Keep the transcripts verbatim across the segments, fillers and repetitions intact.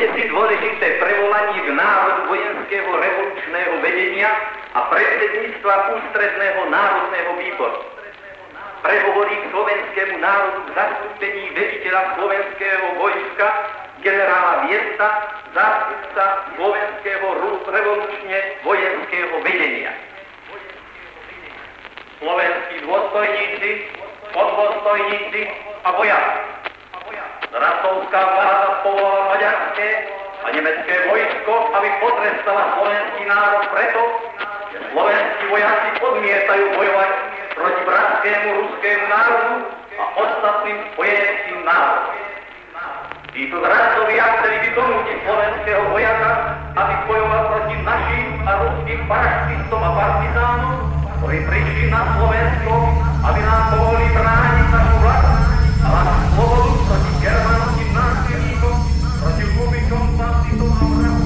si dôležité prevolanie k národu vojenského revolučného vedenia a predsedníctva ústredného národného výboru. Prehovorí k slovenskému národu v zastúpení veliteľa slovenského vojska generála Viesta, zástupca slovenského revolučne vojenského vedenia. Slovenskí dôstojníci, podôstojníci a vojaci. Rasovská vláda povolala maďarské a nemecké vojsko, aby potrestala slovenský národ preto, že slovenskí vojaci odmietajú bojovať proti bratskému ruskému národu a ostatným spojeneckým národom. Títo zradcovia chceli vykonútiť slovenského vojaka, aby bojoval proti našim a ruským paraštistom a partizánom, ktorí prišli na Slovensko, aby nám pomohli brániť našu vlast a našu slobodu proti germánskym násilníkom, proti hubikom, banditom a vrahom.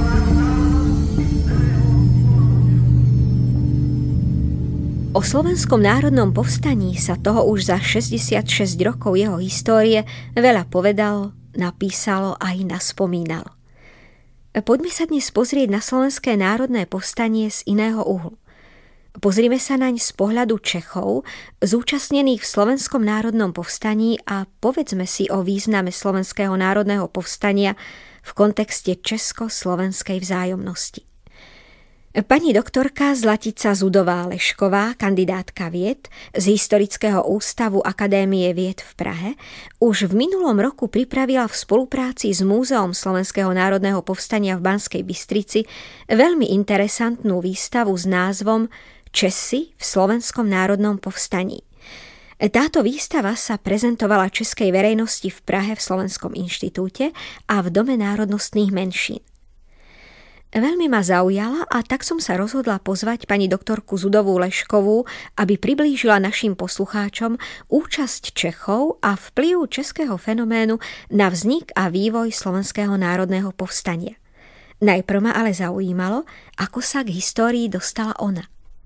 O Slovenskom národnom povstaní sa toho už za šesťdesiatšesť rokov jeho histórie veľa povedalo, napísalo a aj naspomínalo. Poďme sa dnes pozrieť na Slovenské národné povstanie z iného uhlu. Pozrime sa naň z pohľadu Čechov, zúčastnených v Slovenskom národnom povstaní, a povedzme si o význame Slovenského národného povstania v kontexte česko-slovenskej vzájomnosti. Pani doktorka Zlatica Zudová-Lešková, kandidátka vied z Historického ústavu Akadémie vied v Prahe, už v minulom roku pripravila v spolupráci s Múzeom Slovenského národného povstania v Banskej Bystrici veľmi interesantnú výstavu s názvom Česi v Slovenskom národnom povstaní. Táto výstava sa prezentovala českej verejnosti v Prahe v Slovenskom inštitúte a v Dome národnostných menšín. Veľmi ma zaujala a tak som sa rozhodla pozvať pani doktorku Zudovú-Leškovú, aby priblížila našim poslucháčom účasť Čechov a vplyv českého fenoménu na vznik a vývoj Slovenského národného povstania. Najprv ma ale zaujímalo, ako sa k histórii dostala ona.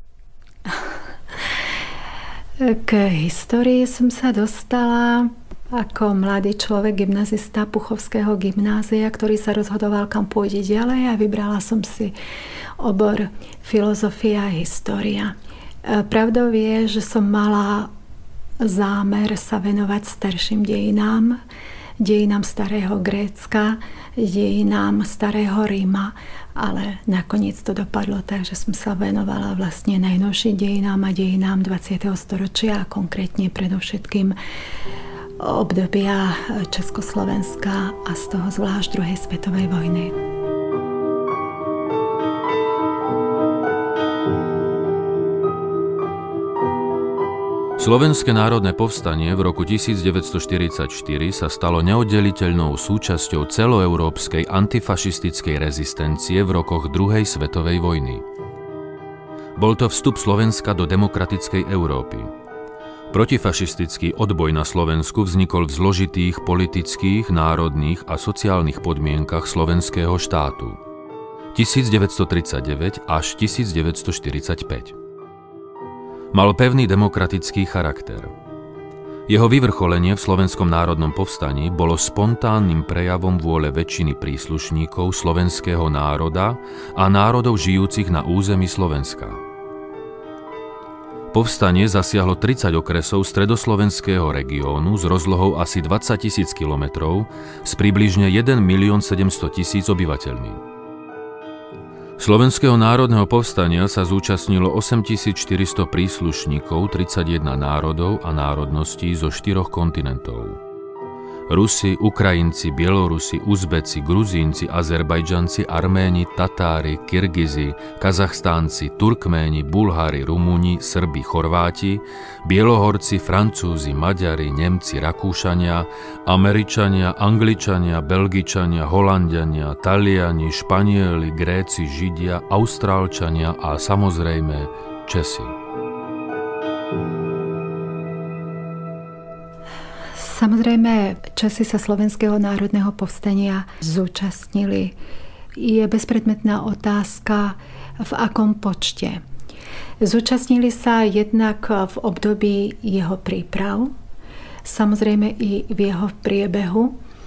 K histórii som sa dostala ako mladý človek, gymnazista Puchovského gymnázia, ktorý sa rozhodoval, kam pôjde ďalej, a vybrala som si obor filozofia a história. Pravdou je, že som mala zámer sa venovať starším dejinám, dejinám starého Grécka, dejinám starého Ríma, ale nakoniec to dopadlo tak, že som sa venovala vlastne najnovším dejinám a dejinám dvadsiateho storočia, a konkrétne predovšetkým obdobia Československa a z toho zvlášť druhej svetovej vojny. Slovenské národné povstanie v roku devätnásťstoštyridsaťštyri sa stalo neoddeliteľnou súčasťou celoeurópskej antifašistickej rezistencie v rokoch druhej svetovej vojny. Bol to vstup Slovenska do demokratickej Európy. Protifašistický odboj na Slovensku vznikol v zložitých politických, národných a sociálnych podmienkach slovenského štátu. devätnásťstotridsaťdeväť až devätnásťstoštyridsaťpäť. Mal pevný demokratický charakter. Jeho vyvrcholenie v Slovenskom národnom povstaní bolo spontánnym prejavom vôle väčšiny príslušníkov slovenského národa a národov žijúcich na území Slovenska. Povstanie zasiahlo tridsať okresov stredoslovenského regiónu s rozlohou asi dvadsaťtisíc kilometrov s približne jeden milión sedemstotisíc obyvateľmi. Slovenského národného povstania sa zúčastnilo osemtisícštyristo príslušníkov tridsaťjeden národov a národností zo štyroch kontinentov. Rusi, Ukrajinci, Bielorusi, Uzbeci, Gruzínci, Azerbajdžanci, Arméni, Tatári, Kirgizi, Kazachstánci, Turkméni, Bulhári, Rumúni, Srbi, Chorváti, Bielohorci, Francúzi, Maďari, Nemci, Rakúšania, Američania, Angličania, Belgičania, Holanďania, Taliani, Španieli, Gréci, Židia, Austrálčania a samozrejme Česi. Samozrejme, Česi sa Slovenského národného povstania zúčastnili. Je bezpredmetná otázka, v akom počte. Zúčastnili sa jednak v období jeho príprav, samozrejme i v jeho priebehu,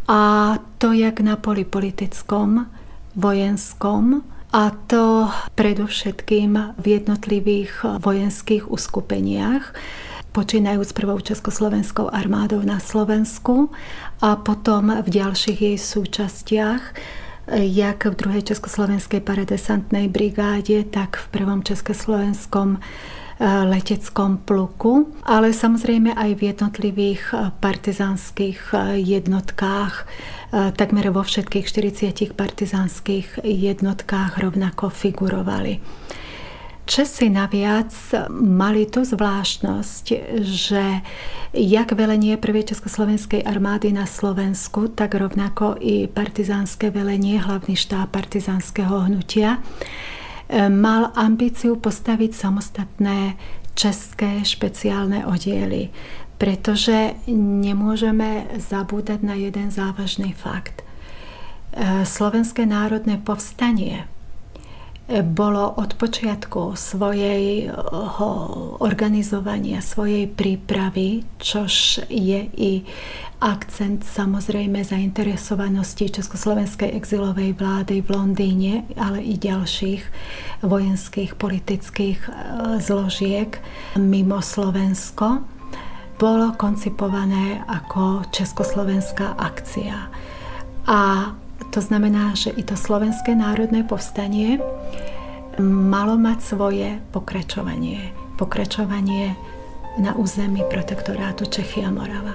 A to jak na poli politickom, vojenskom, a to predovšetkým v jednotlivých vojenských uskupeniach, počínajúc prvou československou armádou na Slovensku a potom v ďalších jej súčastiach, jak v druhej československej paradesantnej brigáde, tak v prvom československom leteckom pluku, ale samozrejme aj v jednotlivých partizánskych jednotkách. Takmer vo všetkých štyridsiatich partizánskych jednotkách rovnako figurovali. Česi naviac mali tú zvláštnosť, že jak velenie prvej československej armády na Slovensku, tak rovnako i partizánske velenie, hlavný štáb partizánskeho hnutia, mal ambíciu postaviť samostatné české špeciálne oddiely, pretože nemôžeme zabúdať na jeden závažný fakt. Slovenské národné povstanie bolo od počiatku svojej organizovania, svojej prípravy, čož je i akcent samozrejme zainteresovanosti československej exilovej vlády v Londýne, ale i ďalších vojenských, politických zložiek mimo Slovensko, bolo koncipované ako československá akcia. A to znamená, že i to Slovenské národné povstanie malo mať svoje pokračovanie. Pokračovanie na území protektorátu Čechy a Morava.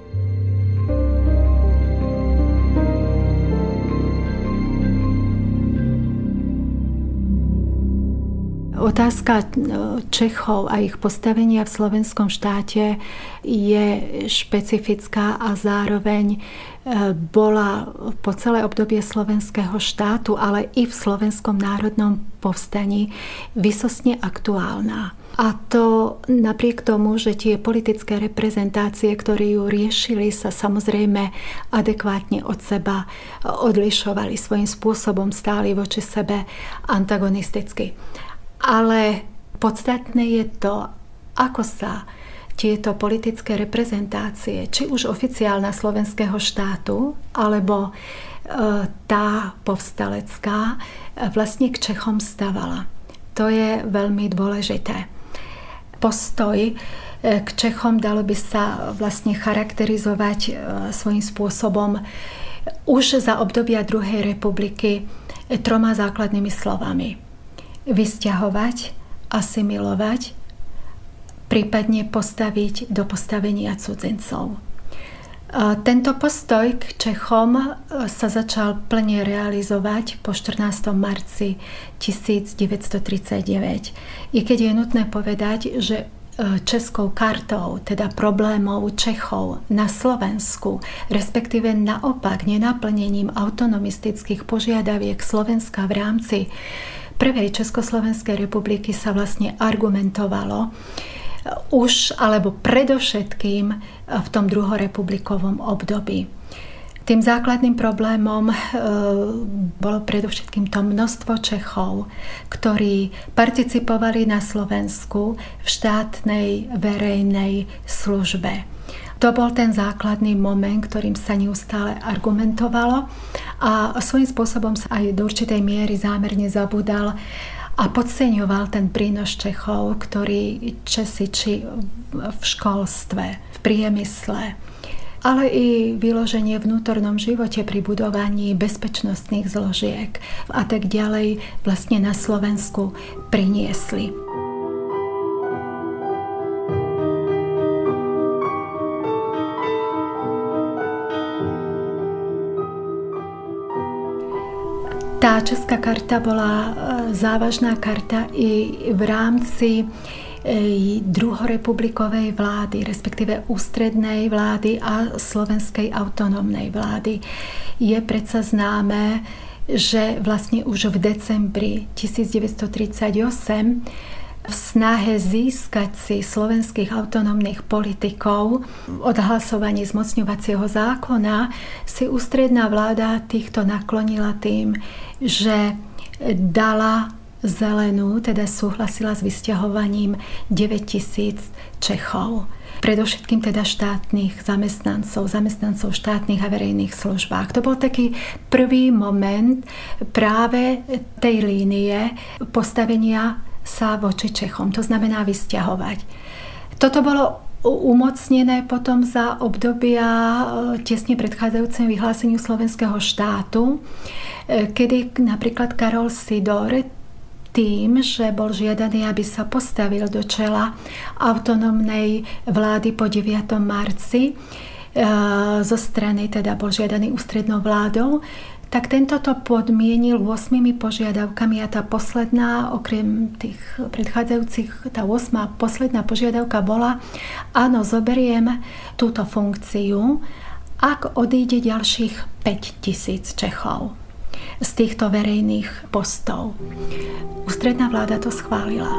Otázka Čechov a ich postavenia v slovenskom štáte je špecifická a zároveň bola po celé obdobie slovenského štátu, ale i v slovenskom národnom povstaní vysostne aktuálna. A to napriek tomu, že tie politické reprezentácie, ktoré ju riešili, sa samozrejme adekvátne od seba odlišovali, svojím spôsobom stáli voči sebe antagonisticky. Ale podstatné je to, ako sa tieto politické reprezentácie, či už oficiálna slovenského štátu, alebo e, tá povstalecká, vlastne k Čechom stavala. To je veľmi dôležité. Postoj k Čechom dalo by sa vlastne charakterizovať e, svojím spôsobom už za obdobia druhej republiky troma základnými slovami. Vysťahovať, asimilovať, prípadne postaviť do postavenia cudzincov. Tento postoj k Čechom sa začal plne realizovať po štrnásteho marca tisícdeväťstotridsaťdeväť. I keď je nutné povedať, že českou kartou, teda problémov Čechov na Slovensku, respektíve naopak nenaplnením autonomistických požiadaviek Slovenska v rámci prvej Československej republiky sa vlastne argumentovalo už alebo predovšetkým v tom druhorepublikovom období. Tým základným problémom e, bolo predovšetkým to množstvo Čechov, ktorí participovali na Slovensku v štátnej verejnej službe. To bol ten základný moment, ktorým sa neustále argumentovalo a svojím spôsobom sa aj do určitej miery zámerne zabudal a podceňoval ten prínos Čechov, ktorí Česi či v školstve, v priemysle, ale i vyloženie v vnútornom živote pri budovaní bezpečnostných zložiek a tak ďalej vlastne na Slovensku priniesli. Tá česká karta bola závažná karta i v rámci druhorepublikovej vlády, respektíve ústrednej vlády a slovenskej autonómnej vlády. Je predsa známe, že vlastne už v decembri tisícdeväťstotridsaťosem v snahe získať si slovenských autonómnych politikov od hlasovaní zmocňovacieho zákona si ústredná vláda týchto naklonila tým, že dala zelenú, teda súhlasila s vysťahovaním deväťtisíc Čechov. predovšetkým teda štátnych zamestnancov, zamestnancov v štátnych a verejných službách. To bol taký prvý moment práve tej línie postavenia sa voči Čechom, to znamená vysťahovať. Toto bolo umocnené potom za obdobia tesne predchádzajúcemu vyhláseniu slovenského štátu, kedy napríklad Karol Sidor tým, že bol žiadaný, aby sa postavil do čela autonómnej vlády po deviatom marci, zo strany teda bol žiadaný ústrednou vládou, tak tento to podmienil ôsmimi požiadavkami a tá posledná, okrem tých predchádzajúcich, tá ôsma posledná požiadavka bola: áno, zoberiem túto funkciu, ak odíde ďalších päť tisíc Čechov z týchto verejných postov. Ústredná vláda to schválila.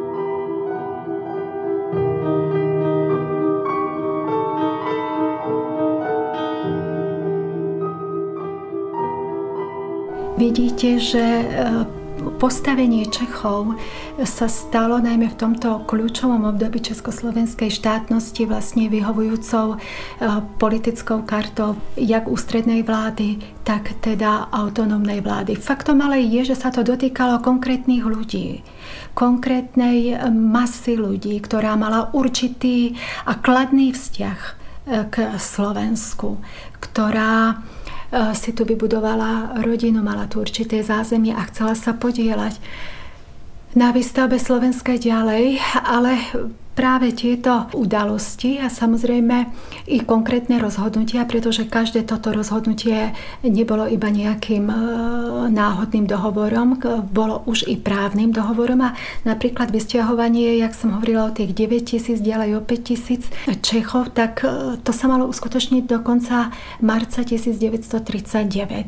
Vidíte, že postavenie Čechov sa stalo najmä v tomto kľúčovom období československej štátnosti vlastne vyhovujúcou politickou kartou jak ústrednej vlády, tak teda autonómnej vlády. Faktom ale je, že sa to dotýkalo konkrétnych ľudí, konkrétnej masy ľudí, ktorá mala určitý a kladný vzťah k Slovensku, ktorá si tu vybudovala rodinu, mala tu určité zázemie a chcela sa podieľať na výstavbe Slovenska ďalej, ale práve tieto udalosti a samozrejme i konkrétne rozhodnutia, pretože každé toto rozhodnutie nebolo iba nejakým náhodným dohovorom, bolo už i právnym dohovorom a napríklad vysťahovanie, jak som hovorila o tých deväť tisíc, ďalej o päť tisíc Čechov, tak to sa malo uskutočniť do konca marca devätnásťtridsaťdeväť.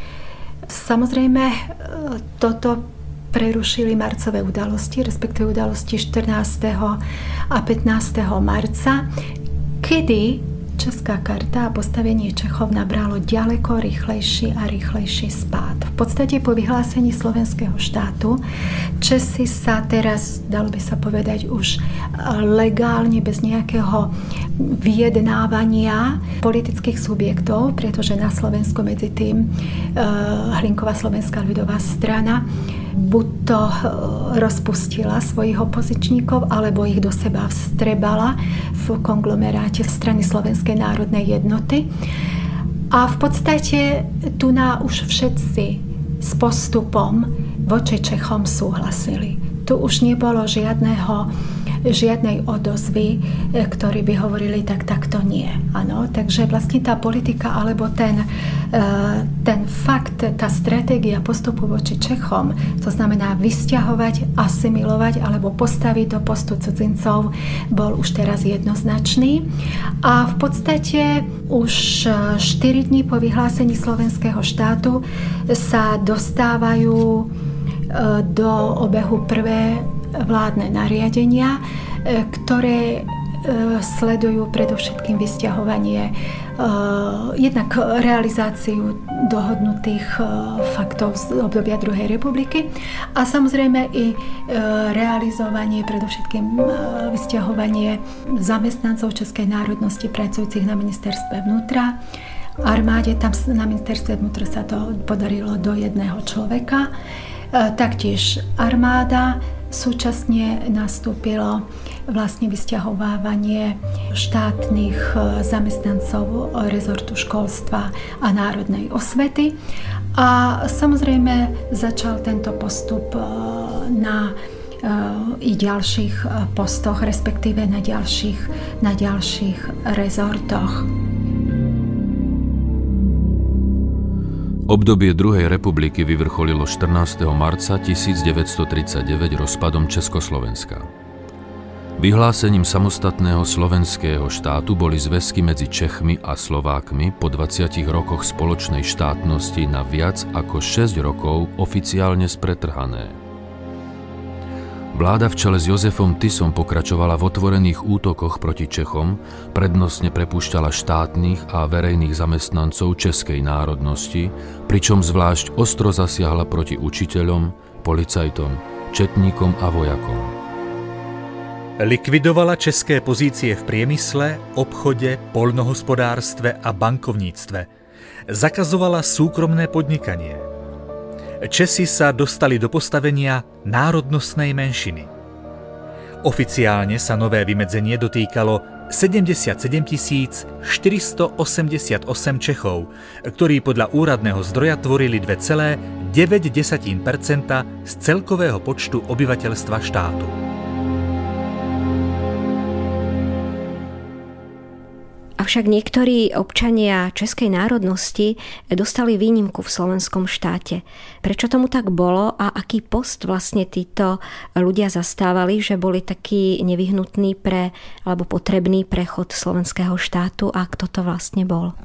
Samozrejme toto prerušili marcové udalosti, respektíve udalosti štrnásteho a pätnásteho marca, kedy česká karta a postavenie Čechov nabralo ďaleko rýchlejší a rýchlejší spád. V podstate po vyhlásení slovenského štátu Česi sa teraz, dalo by sa povedať, už legálne, bez nejakého vyjednávania politických subjektov, pretože na Slovensku medzi tým Hlinková slovenská ľudová strana buď to rozpustila svojich opozičníkov, alebo ich do seba vstrebala v konglomeráte strany Slovenskej národnej jednoty. A v podstate tu na už všetci s postupom voči Čechom súhlasili. Tu už nebolo žiadneho, žiadnej odozvy, ktorí by hovorili tak, tak to nie. Ano? Takže vlastne tá politika alebo ten, ten fakt, tá stratégia postupu voči Čechom, to znamená vysťahovať, asimilovať alebo postaviť do postu cudzincov, bol už teraz jednoznačný. A v podstate už štyri dní po vyhlásení slovenského štátu sa dostávajú do obehu prvé vládne nariadenia, ktoré sledujú predovšetkým vysťahovanie, jednak realizáciu dohodnutých faktov z obdobia druhej republiky a samozrejme i realizovanie, predovšetkým vysťahovanie zamestnancov českej národnosti pracujúcich na ministerstve vnútra, armáde. Tam na ministerstve vnútra sa to podarilo do jedného človeka. Taktiež armáda, súčasne nastúpilo vlastne vysťahovávanie štátnych zamestnancov rezortu školstva a národnej osvety. A samozrejme začal tento postup na i ďalších postoch, respektíve na ďalších, na ďalších rezortoch. Obdobie druhej republiky vyvrcholilo štrnásteho marca tisícdeväťstotridsaťdeväť rozpadom Československa. Vyhlásením samostatného slovenského štátu boli zväzky medzi Čechmi a Slovákmi po dvadsiatich rokoch spoločnej štátnosti na viac ako šesť rokov oficiálne spretrhané. Vláda v čele s Jozefom Tisom pokračovala v otvorených útokoch proti Čechom, prednostne prepúšťala štátnych a verejných zamestnancov českej národnosti, pričom zvlášť ostro zasiahla proti učiteľom, policajtom, četníkom a vojakom. Likvidovala české pozície v priemysle, obchode, poľnohospodárstve a bankovníctve. Zakazovala súkromné podnikanie. Česi sa dostali do postavenia národnostnej menšiny. Oficiálne sa nové vymedzenie dotýkalo sedemdesiatsedem tisíc štyristoosemdesiatosem Čechov, ktorí podľa úradného zdroja tvorili dva celé deväť percenta z celkového počtu obyvateľstva štátu. Avšak niektorí občania českej národnosti dostali výnimku v slovenskom štáte. Prečo tomu tak bolo a aký post vlastne títo ľudia zastávali, že boli takí nevyhnutní pre, alebo potrebný prechod slovenského štátu a kto to vlastne bol?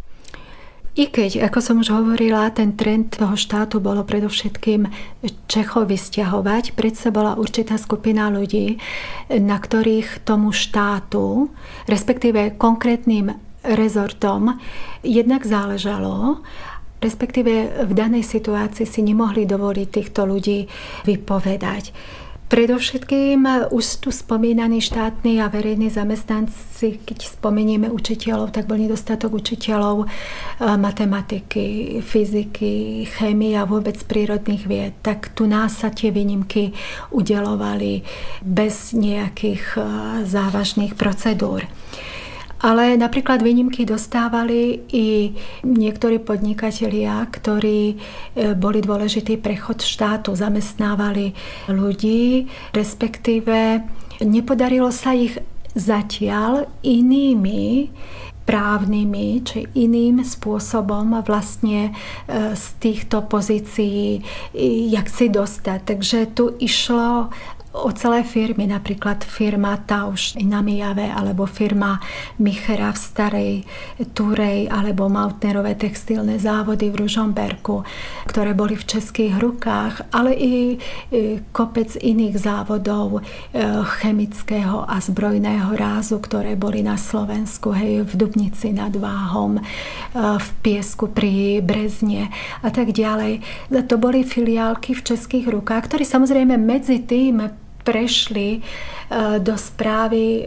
I keď, ako som už hovorila, ten trend toho štátu bolo predovšetkým Čechov vysťahovať, predsa bola určitá skupina ľudí, na ktorých tomu štátu, respektíve konkrétnym rezortom, jednak záležalo, respektíve v danej situácii si nemohli dovoliť týchto ľudí vypovedať. Predovšetkým už tu spomínaní štátni a verejní zamestnanci, keď spomenieme učiteľov, tak bol nedostatok učiteľov matematiky, fyziky, chémie a vôbec prírodných vied. Tak tu nás sa tie výnimky udeľovali bez nejakých závažných procedúr. Ale napríklad výnimky dostávali i niektorí podnikatelia, ktorí boli dôležitý prechod štátu, zamestnávali ľudí, respektíve nepodarilo sa ich zatiaľ inými právnymi či iným spôsobom vlastne z týchto pozícií jak si dostať. Takže tu išlo o celé firmy, napríklad firma Tausch na Mijave, alebo firma Michera v Starej Turej, alebo Mautnerové textilné závody v Ružomberku, ktoré boli v českých rukách, ale i kopec iných závodov chemického a zbrojného rázu, ktoré boli na Slovensku, hej, v Dubnici nad Váhom, v Piesku pri Brezne a tak ďalej. To boli filiálky v českých rukách, ktoré samozrejme medzi tým prešli do správy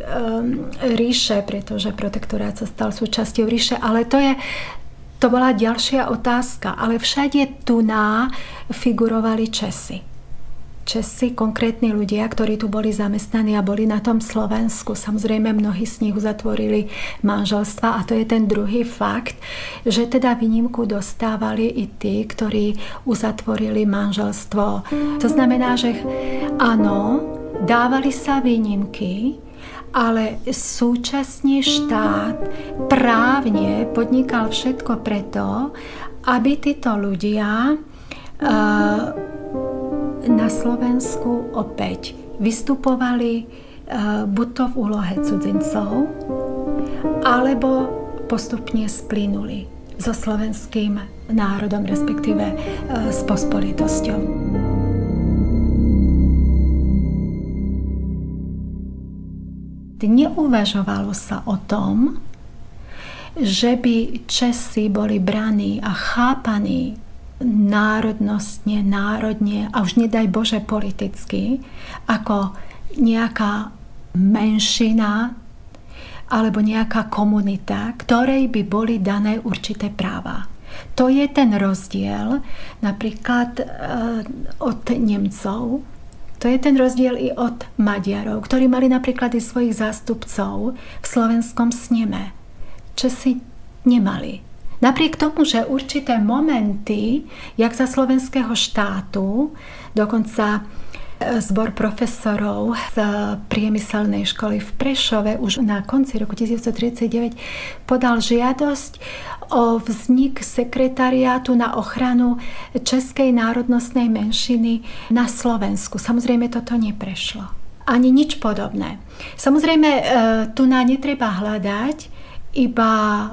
ríše, pretože protektorát sa stal súčasťou ríše, ale to je to bola ďalšia otázka. Ale všade tu na figurovali Česi. Česi, konkrétni ľudia, ktorí tu boli zamestnaní a boli na tom Slovensku. Samozrejme, mnohí z nich uzatvorili manželstva a to je ten druhý fakt, že teda výnimku dostávali i tí, ktorí uzatvorili manželstvo. To znamená, že áno, dávali sa výnimky, ale súčasne štát právne podnikal všetko preto, aby títo ľudia uh, na Slovensku opäť vystupovali buď to v úlohe cudzincov, alebo postupne splynuli so slovenským národom, respektíve s pospolitosťou. Neuvažovalo sa o tom, že by Česi boli braní a chápaní národnostne, národne a už nedaj Bože politicky, ako nejaká menšina alebo nejaká komunita, ktorej by boli dané určité práva. To je ten rozdiel napríklad od Nemcov, to je ten rozdiel i od Maďarov, ktorí mali napríklad i svojich zástupcov v slovenskom sneme. Česi nemali. Napriek tomu, že určité momenty, jak za slovenského štátu, dokonca zbor profesorov z priemyselnej školy v Prešove už na konci roku devätnásťtridsaťdeväť podal žiadosť o vznik sekretariátu na ochranu českej národnostnej menšiny na Slovensku. Samozrejme, toto neprešlo. Ani nič podobné. Samozrejme, tu na netreba hľadať iba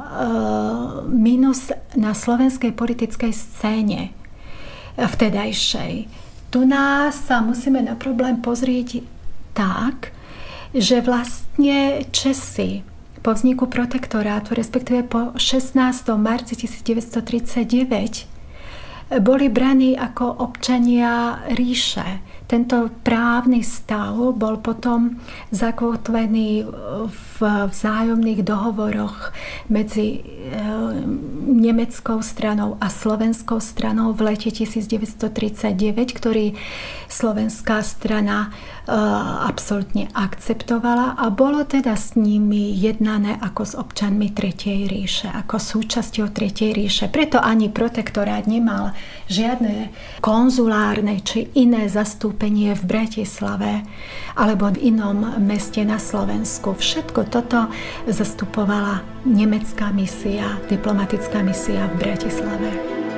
minus na slovenskej politickej scéne vtedajšej. Tu nás sa musíme na problém pozrieť tak, že vlastne Česi po vzniku protektorátu, respektíve po šestnásteho marca devätnásťtridsaťdeväť, boli braní ako občania ríše. Tento právny stav bol potom zakotvený v vzájomných dohovoroch medzi nemeckou stranou a slovenskou stranou v lete devätnásťtridsaťdeväť, ktorý slovenská strana absolútne akceptovala a bolo teda s nimi jednané ako s občanmi Tretej ríše, ako súčasťou Tretej ríše. Preto ani protektorát nemal žiadne konzulárne či iné zastúpenie v Bratislave alebo v inom meste na Slovensku. Všetko toto zastupovala nemecká misia, diplomatická misia v Bratislave.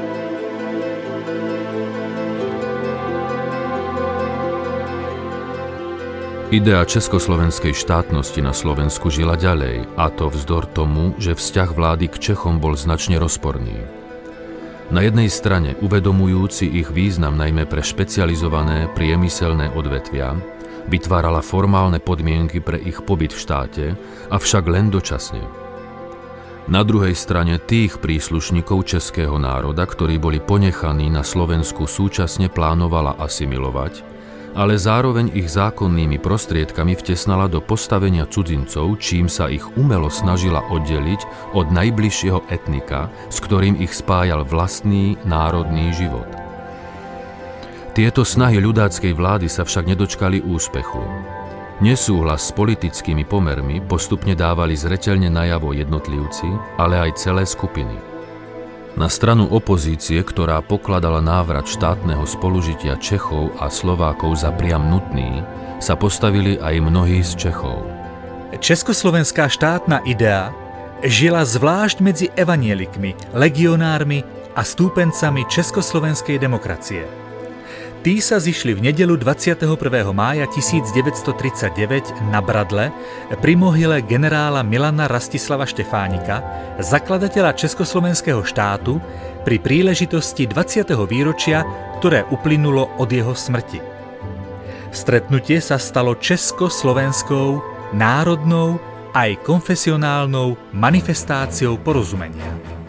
Idea československej štátnosti na Slovensku žila ďalej, a to vzdor tomu, že vzťah vlády k Čechom bol značne rozporný. Na jednej strane, uvedomujúci ich význam najmä pre špecializované priemyselné odvetvia, vytvárala formálne podmienky pre ich pobyt v štáte, avšak len dočasne. Na druhej strane tých príslušníkov českého národa, ktorí boli ponechaní na Slovensku, súčasne plánovala asimilovať, ale zároveň ich zákonnými prostriedkami vtesnala do postavenia cudzincov, čím sa ich umelo snažila oddeliť od najbližšieho etnika, s ktorým ich spájal vlastný národný život. Tieto snahy ľudáckej vlády sa však nedočkali úspechu. Nesúhlas s politickými pomermi postupne dávali zreteľne najavo jednotlivci, ale aj celé skupiny. Na stranu opozície, ktorá pokladala návrat štátneho spolužitia Čechov a Slovákov za priam nutný, sa postavili aj mnohí z Čechov. Československá štátna idea žila zvlášť medzi evanielikmi, legionármi a stúpencami československej demokracie. Tí sa zišli v nedeľu dvadsiateho prvého mája tisícdeväťstotridsaťdeväť na Bradle pri mohyle generála Milana Rastislava Štefánika, zakladateľa Československého štátu, pri príležitosti dvadsiateho výročia, ktoré uplynulo od jeho smrti. Stretnutie sa stalo československou, národnou aj konfesionálnou manifestáciou porozumenia.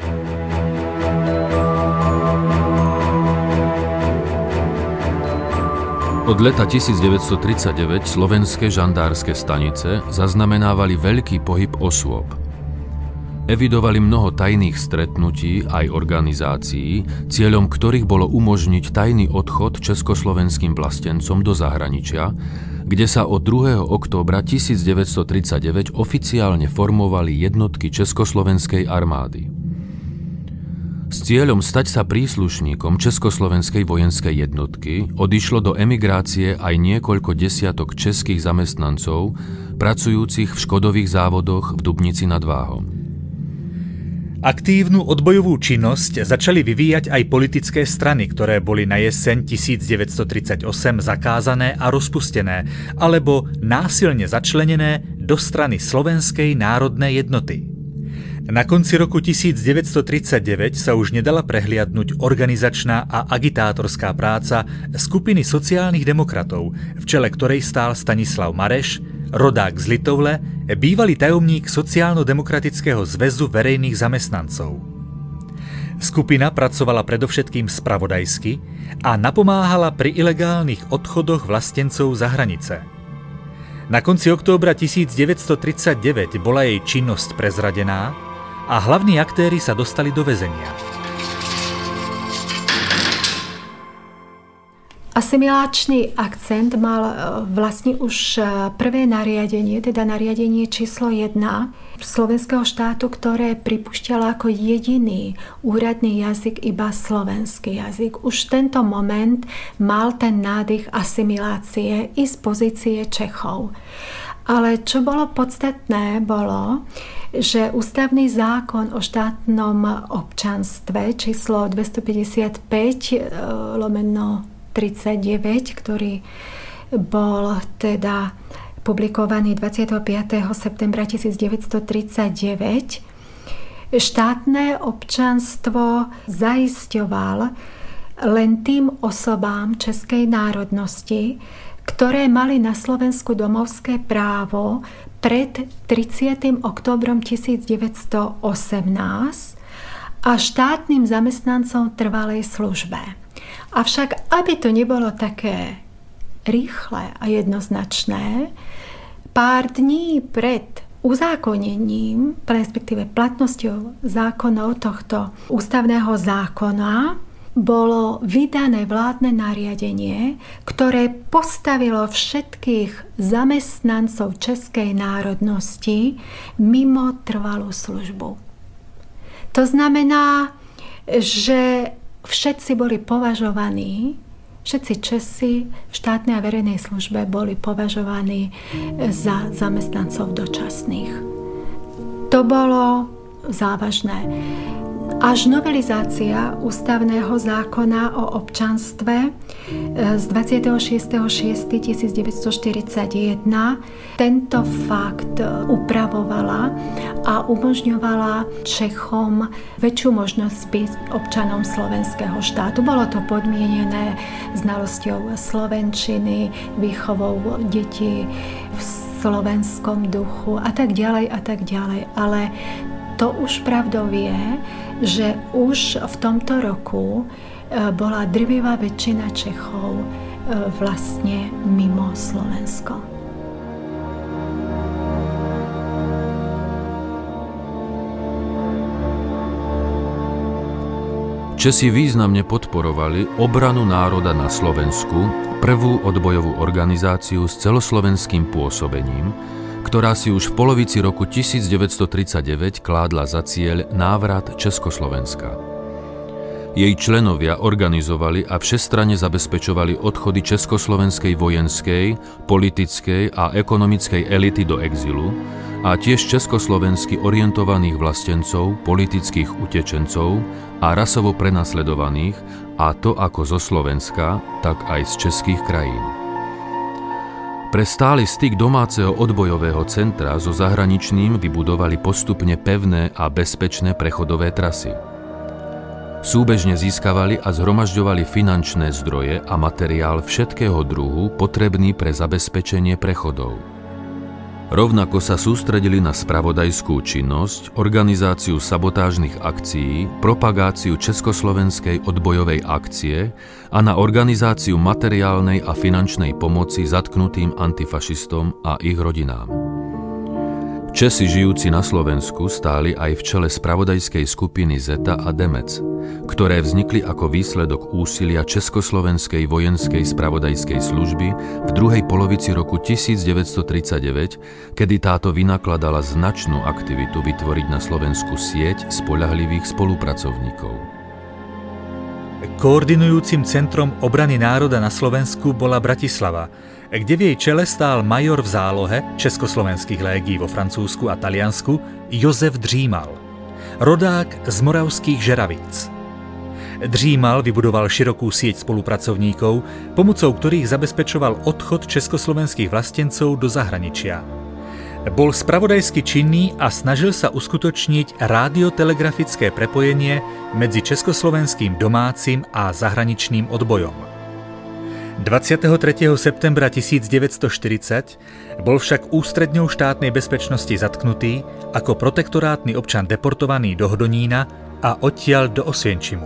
Od leta tisícdeväťstotridsaťdeväť slovenské žandárske stanice zaznamenávali veľký pohyb osôb. Evidovali mnoho tajných stretnutí aj organizácií, cieľom ktorých bolo umožniť tajný odchod československým vlastencom do zahraničia, kde sa od druhého októbra tisícdeväťstotridsaťdeväť oficiálne formovali jednotky Československej armády. S cieľom stať sa príslušníkom Československej vojenskej jednotky odišlo do emigrácie aj niekoľko desiatok českých zamestnancov, pracujúcich v škodových závodoch v Dubnici nad Váhom. Aktívnu odbojovú činnosť začali vyvíjať aj politické strany, ktoré boli na jeseň tisícdeväťstotridsaťosem zakázané a rozpustené, alebo násilne začlenené do strany Slovenskej národnej jednoty. Na konci roku tisícdeväťstotridsaťdeväť sa už nedala prehliadnuť organizačná a agitátorská práca skupiny sociálnych demokratov, v čele ktorej stál Stanislav Mareš, rodák z Litovle, bývalý tajomník Sociálno-demokratického zväzu verejných zamestnancov. Skupina pracovala predovšetkým spravodajsky a napomáhala pri ilegálnych odchodoch vlastencov za hranice. Na konci októbra tisícdeväťstotridsaťdeväť bola jej činnosť prezradená a hlavní aktéri sa dostali do väzenia. Asimiláčny akcent mal vlastne už prvé nariadenie, teda nariadenie číslo jedna slovenského štátu, ktoré pripúšťalo ako jediný úradný jazyk iba slovenský jazyk. Už v tento moment mal ten nádych asimilácie i z pozície Čechov. Ale čo bolo podstatné, bolo, že ústavný zákon o štátnom občanstve číslo dvestopäťdesiatpäť lomeno tridsaťdeväť, ktorý bol teda publikovaný dvadsiateho piateho septembra tisícdeväťstotridsaťdeväť, štátne občanstvo zaisťoval len tým osobám českej národnosti, ktoré mali na Slovensku domovské právo pred tridsiatym októbrom tisícdeväťstoosemnásť a štátnym zamestnancom trvalej službe. Avšak, aby to nebolo také rýchle a jednoznačné. Pár dní pred uzákonením, respektíve platnosťou zákonov tohto ústavného zákona, bolo vydané vládne nariadenie, ktoré postavilo všetkých zamestnancov českej národnosti mimo trvalú službu. To znamená, že všetci boli považovaní, všetci Česi v štátnej a verejnej službe boli považovaní za zamestnancov dočasných. To bolo závažné. Až novelizácia ústavného zákona o občanstve z dvadsiateho šiesteho júna tisícdeväťstoštyridsaťjeden tento fakt upravovala a umožňovala Čechom väčšiu možnosť byť občanom slovenského štátu. Bolo to podmienené znalosťou slovenčiny, výchovou detí v slovenskom duchu a tak ďalej a tak ďalej. Ale to už pravdou je, že už v tomto roku bola drvivá väčšina Čechov vlastne mimo Slovensko. Česi významne podporovali obranu národa na Slovensku, prvú odbojovú organizáciu s celoslovenským pôsobením, ktorá si už v polovici roku tisícdeväťstotridsaťdeväť kládla za cieľ návrat Československa. Jej členovia organizovali a všestranne zabezpečovali odchody československej vojenskej, politickej a ekonomickej elity do exilu a tiež československy orientovaných vlastencov, politických utečencov a rasovo prenasledovaných, a to ako zo Slovenska, tak aj z českých krajín. Pre stály styk domáceho odbojového centra so zahraničným vybudovali postupne pevné a bezpečné prechodové trasy. Súbežne získavali a zhromažďovali finančné zdroje a materiál všetkého druhu potrebný pre zabezpečenie prechodov. Rovnako sa sústredili na spravodajskú činnosť, organizáciu sabotážnych akcií, propagáciu československej odbojovej akcie a na organizáciu materiálnej a finančnej pomoci zatknutým antifašistom a ich rodinám. Česi žijúci na Slovensku stáli aj v čele spravodajskej skupiny Zeta a Demec, ktoré vznikli ako výsledok úsilia Československej vojenskej spravodajskej služby v druhej polovici roku tisícdeväťstotridsaťdeväť, kedy táto vynakladala značnú aktivitu vytvoriť na Slovensku sieť spoľahlivých spolupracovníkov. Koordinujúcim centrom obrany národa na Slovensku bola Bratislava, kde v jej čele stál major v zálohe československých légií vo Francúzsku a Taliansku Jozef Dřímal, rodák z moravských Žeravíc. Dřímal vybudoval širokú sieť spolupracovníkov, pomocou ktorých zabezpečoval odchod československých vlastencov do zahraničia. Bol spravodajsky činný a snažil sa uskutočniť rádiotelegrafické prepojenie medzi československým domácim a zahraničným odbojom. dvadsiateho tretieho septembra tisícdeväťstoštyridsať bol však ústredňou štátnej bezpečnosti zatknutý ako protektorátny občan deportovaný do Hodonína a odtiaľ do Osvienčimu.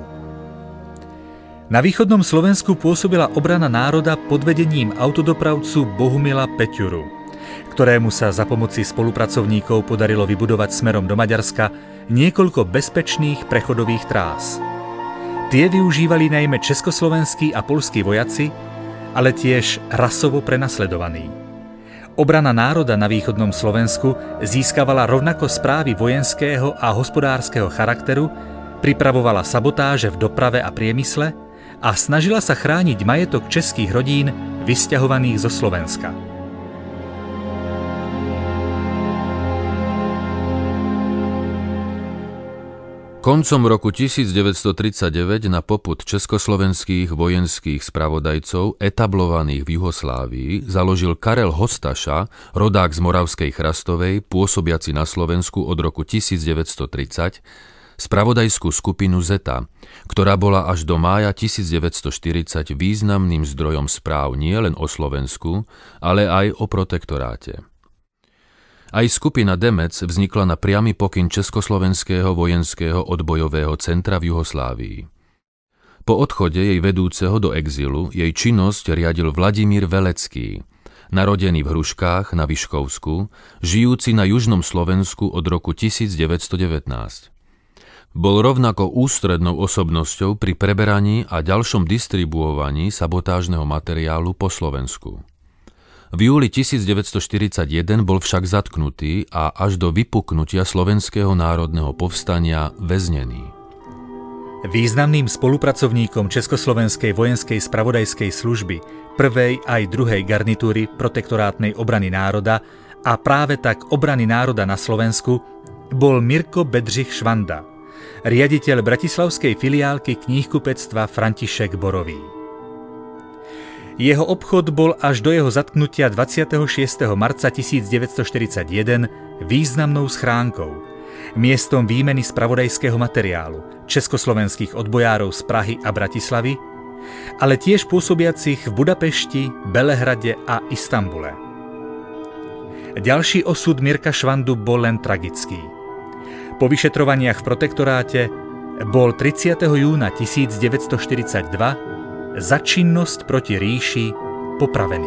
Na východnom Slovensku pôsobila obrana národa pod vedením autodopravcu Bohumila Peťuru, ktorému sa za pomoci spolupracovníkov podarilo vybudovať smerom do Maďarska niekoľko bezpečných prechodových trás. Tie využívali najmä československí a poľskí vojaci, ale tiež rasovo prenasledovaní. Obrana národa na východnom Slovensku získavala rovnako správy vojenského a hospodárskeho charakteru, pripravovala sabotáže v doprave a priemysle a snažila sa chrániť majetok českých rodín vysťahovaných zo Slovenska. Koncom roku tisícdeväťstotridsaťdeväť na popud československých vojenských spravodajcov etablovaných v Juhoslávii založil Karel Hostaša, rodák z Moravskej Chrastovej, pôsobiaci na Slovensku od roku tisícdeväťstotridsať, spravodajskú skupinu Zeta, ktorá bola až do mája tisícdeväťstoštyridsať významným zdrojom správ nielen o Slovensku, ale aj o protektoráte. Aj skupina Demec vznikla na priamy pokyn Československého vojenského odbojového centra v Juhoslávii. Po odchode jej vedúceho do exilu jej činnosť riadil Vladimír Velecký, narodený v Hruškách na Vyškovsku, žijúci na južnom Slovensku od roku tisícdeväťsto devätnásť. Bol rovnako ústrednou osobnosťou pri preberaní a ďalšom distribuovaní sabotážneho materiálu po Slovensku. V júli tisícdeväťstoštyridsaťjeden bol však zatknutý a až do vypuknutia Slovenského národného povstania väznený. Významným spolupracovníkom Československej vojenskej spravodajskej služby prvej aj druhej garnitúry protektorátnej obrany národa a práve tak obrany národa na Slovensku bol Mirko Bedřich Švanda, riaditeľ bratislavskej filiálky kníhkupectva František Borový. Jeho obchod bol až do jeho zatknutia dvadsiateho šiesteho marca tisícdeväťstoštyridsaťjeden významnou schránkou, miestom výmeny spravodajského materiálu československých odbojárov z Prahy a Bratislavy, ale tiež pôsobiacich v Budapešti, Belehrade a Istanbule. Ďalší osud Mirka Švandu bol len tragický. Po vyšetrovaniach v protektoráte bol tridsiateho júna tisícdeväťstoštyridsaťdva za činnosť proti ríši popravený.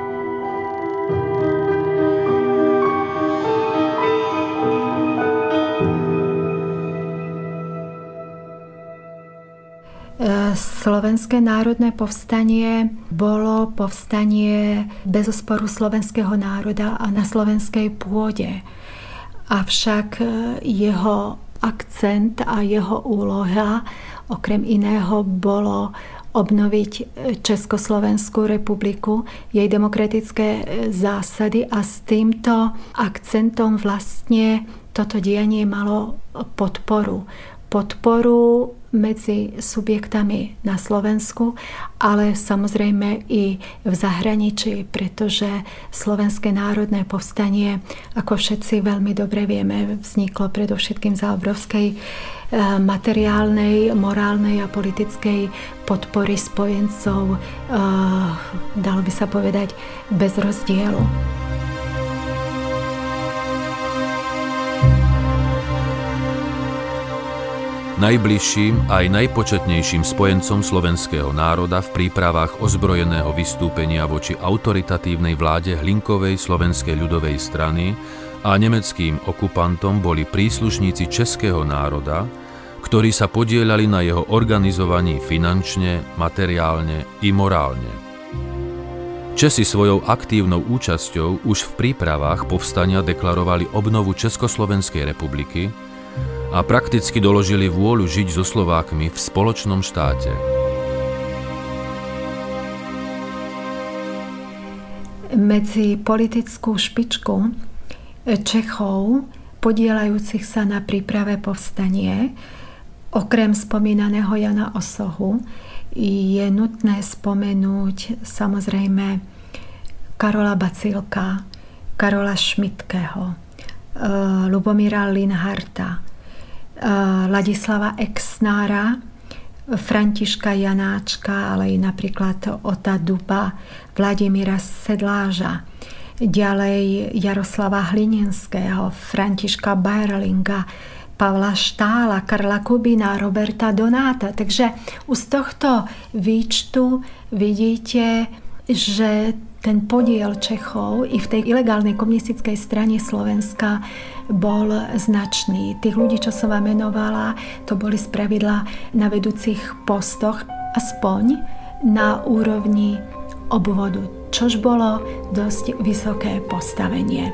Slovenské národné povstanie bolo povstanie bezosporu slovenského národa a na slovenskej pôde. Avšak jeho akcent a jeho úloha okrem iného bolo obnoviť Československú republiku, jej demokratické zásady a s týmto akcentom vlastne toto dianie malo podporu. Podporu medzi subjektami na Slovensku, ale samozrejme i v zahraničí, pretože Slovenské národné povstanie, ako všetci veľmi dobre vieme, vzniklo predovšetkým za obrovskej materiálnej, morálnej a politickej podpory spojencov, dalo by sa povedať, bez rozdielu. Najbližším aj najpočetnejším spojencom slovenského národa v prípravách ozbrojeného vystúpenia voči autoritatívnej vláde Hlinkovej slovenskej ľudovej strany a nemeckým okupantom boli príslušníci českého národa, ktorí sa podieľali na jeho organizovaní finančne, materiálne i morálne. Česi svojou aktívnou účasťou už v prípravách povstania deklarovali obnovu Československej republiky a prakticky doložili vôľu žiť so Slovákmi v spoločnom štáte. Medzi politickú špičku Čechov, podieľajúcich sa na príprave povstanie, okrem spomínaného Jana Osohu, je nutné spomenúť samozrejme Karola Bacílka, Karola Šmidtkeho, Lubomíra Linharta, Ladislava Exnára, Františka Janáčka, ale i napríklad Ota Duba, Vladimíra Sedláža, ďalej Jaroslava Hlininského, Františka Bajerlinga, Pavla Štála, Karla Kubina, Roberta Donáta. Takže už z tohto výčtu vidíte, že ten podiel Čechov i v tej ilegálnej komunistickej strane Slovenska bol značný. Tých ľudí, čo som vám menovala, to boli spravidla na vedúcich postoch, aspoň na úrovni obvodu, čož bolo dosť vysoké postavenie.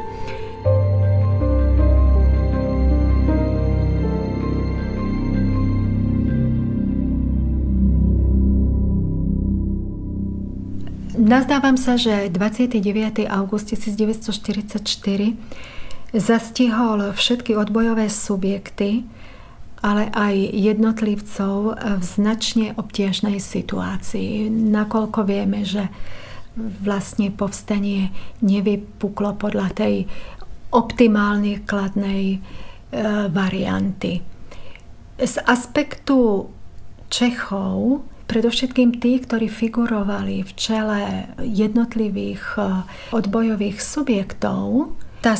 Nazdávam sa, že dvadsiateho deviateho augusta tisícdeväťstoštyridsaťštyri zastihol všetky odbojové subjekty, ale aj jednotlivcov v značne obťažnej situácii. Nakoľko vieme, že vlastne povstanie nevypuklo podľa tej optimálne kladnej e, varianty. Z aspektu Čechov, predovšetkým tí, ktorí figurovali v čele jednotlivých odbojových subjektov, tá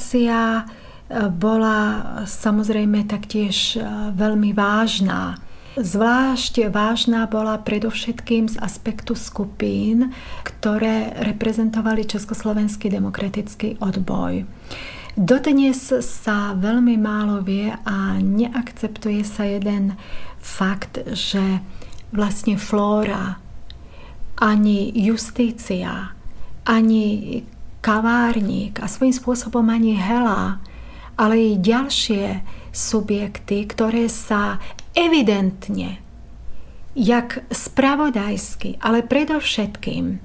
situácia bola samozrejme taktiež veľmi vážna. Zvlášť vážna bola predovšetkým z aspektu skupín, ktoré reprezentovali Československý demokratický odboj. Dodnes sa veľmi málo vie a neakceptuje sa jeden fakt, že vlastne Flóra, ani Justícia, ani Kavárnik a svojím spôsobom ani Hela, ale i ďalšie subjekty, ktoré sa evidentne, jak spravodajsky, ale predovšetkým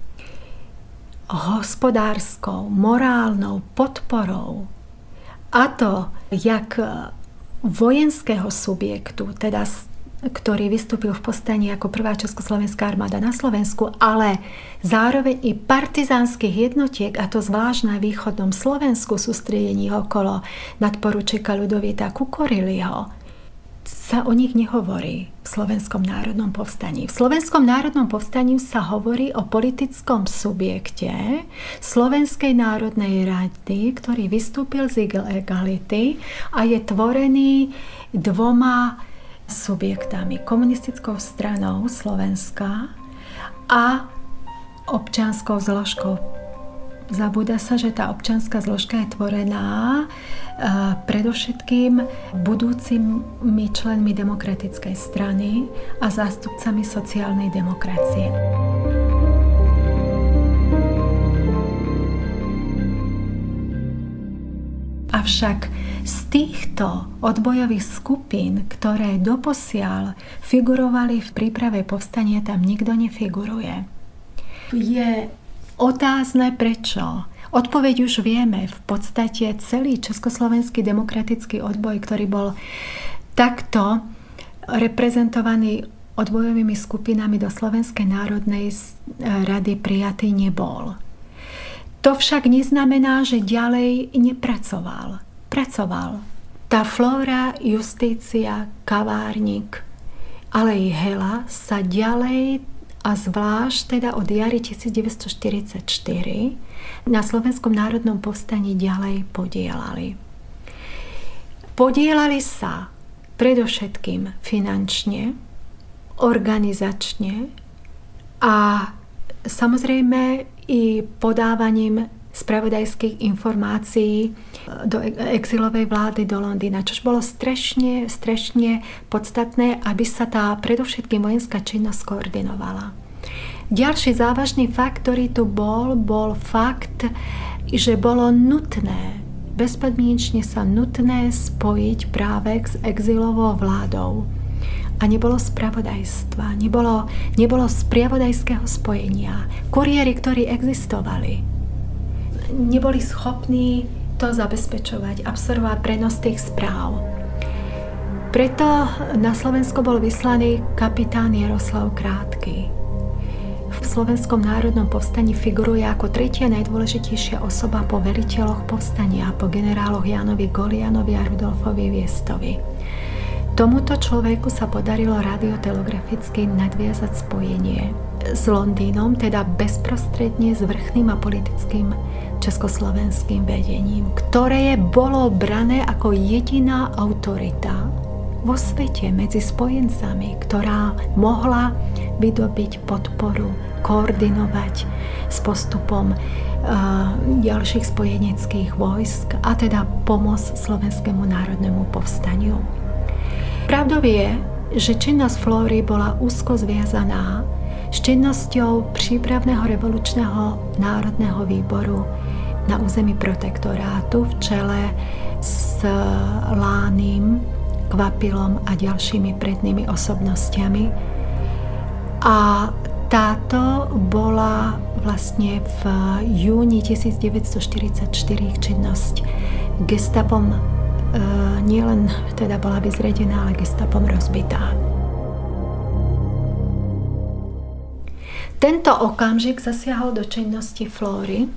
hospodárskou, morálnou podporou, a to jak vojenského subjektu, teda ktorý vystúpil v povstaní ako prvá československá armáda na Slovensku, ale zároveň i partizánskych jednotiek, a to zvlášť na východnom Slovensku, sústredení okolo nadporučíka Ľudovita Kukoriliho, sa o nich nehovorí v Slovenskom národnom povstaní. V Slovenskom národnom povstaní sa hovorí o politickom subjekte Slovenskej národnej rady, ktorý vystúpil z ilegality a je tvorený dvoma subjektami. Komunistickou stranou Slovenska a občianskou zložkou. Zabúda sa, že tá občianska zložka je tvorená predovšetkým budúcimi členmi demokratickej strany a zástupcami sociálnej demokracie. Avšak z týchto odbojových skupín, ktoré doposiaľ figurovali v príprave povstania, tam nikto nefiguruje. Je otázne prečo. Odpoveď už vieme. V podstate celý Československý demokratický odboj, ktorý bol takto reprezentovaný odbojovými skupinami do Slovenskej národnej rady, prijatý nebol. To však neznamená, že ďalej nepracoval. Pracoval. Tá Flóra, Justícia, Kavárnik, ale i Hela sa ďalej a zvlášť teda od jary devätnásťstoštyridsaťštyri na Slovenskom národnom povstaní ďalej podielali. Podielali sa predovšetkým finančne, organizačne a samozrejme i podávaním spravodajských informácií do exilovej vlády do Londýna, čož bolo strašne, strašne podstatné, aby sa tá predovšetkým vojenská činnosť koordinovala. Ďalší závažný fakt, ktorý tu bol, bol fakt, že bolo nutné, bezpodmienečne sa nutné spojiť práve s exilovou vládou. A nebolo spravodajstva, nebolo, nebolo spravodajského spojenia. Kuriéri, ktorí existovali, neboli schopní to zabezpečovať, absorbovať prenos tých správ. Preto na Slovensko bol vyslaný kapitán Jaroslav Krátky. V Slovenskom národnom povstaní figuruje ako tretia najdôležitejšia osoba po veliteľoch povstania, po generáloch Jánovi Golianovi a Rudolfovi Viestovi. Tomuto človeku sa podarilo radiotelegraficky nadviazať spojenie s Londýnom, teda bezprostredne s vrchným a politickým československým vedením, ktoré bolo brané ako jediná autorita vo svete medzi spojencami, ktorá mohla vydobiť podporu, koordinovať s postupom uh, ďalších spojeneckých vojsk a teda pomoc Slovenskému národnému povstaniu. Pravdou je, že činnosť Flóry bola úzko zviazaná s činnosťou prípravného revolučného národného výboru na území protektorátu v čele s Lánym, Kvapilom a ďalšími prednými osobnostiami. A táto bola vlastne v júni devätnásťstoštyridsaťštyri činnosť gestapom e, nielen teda bola vyzredená, ale gestapom rozbitá. Tento okamžik zasiahol do činnosti Flóry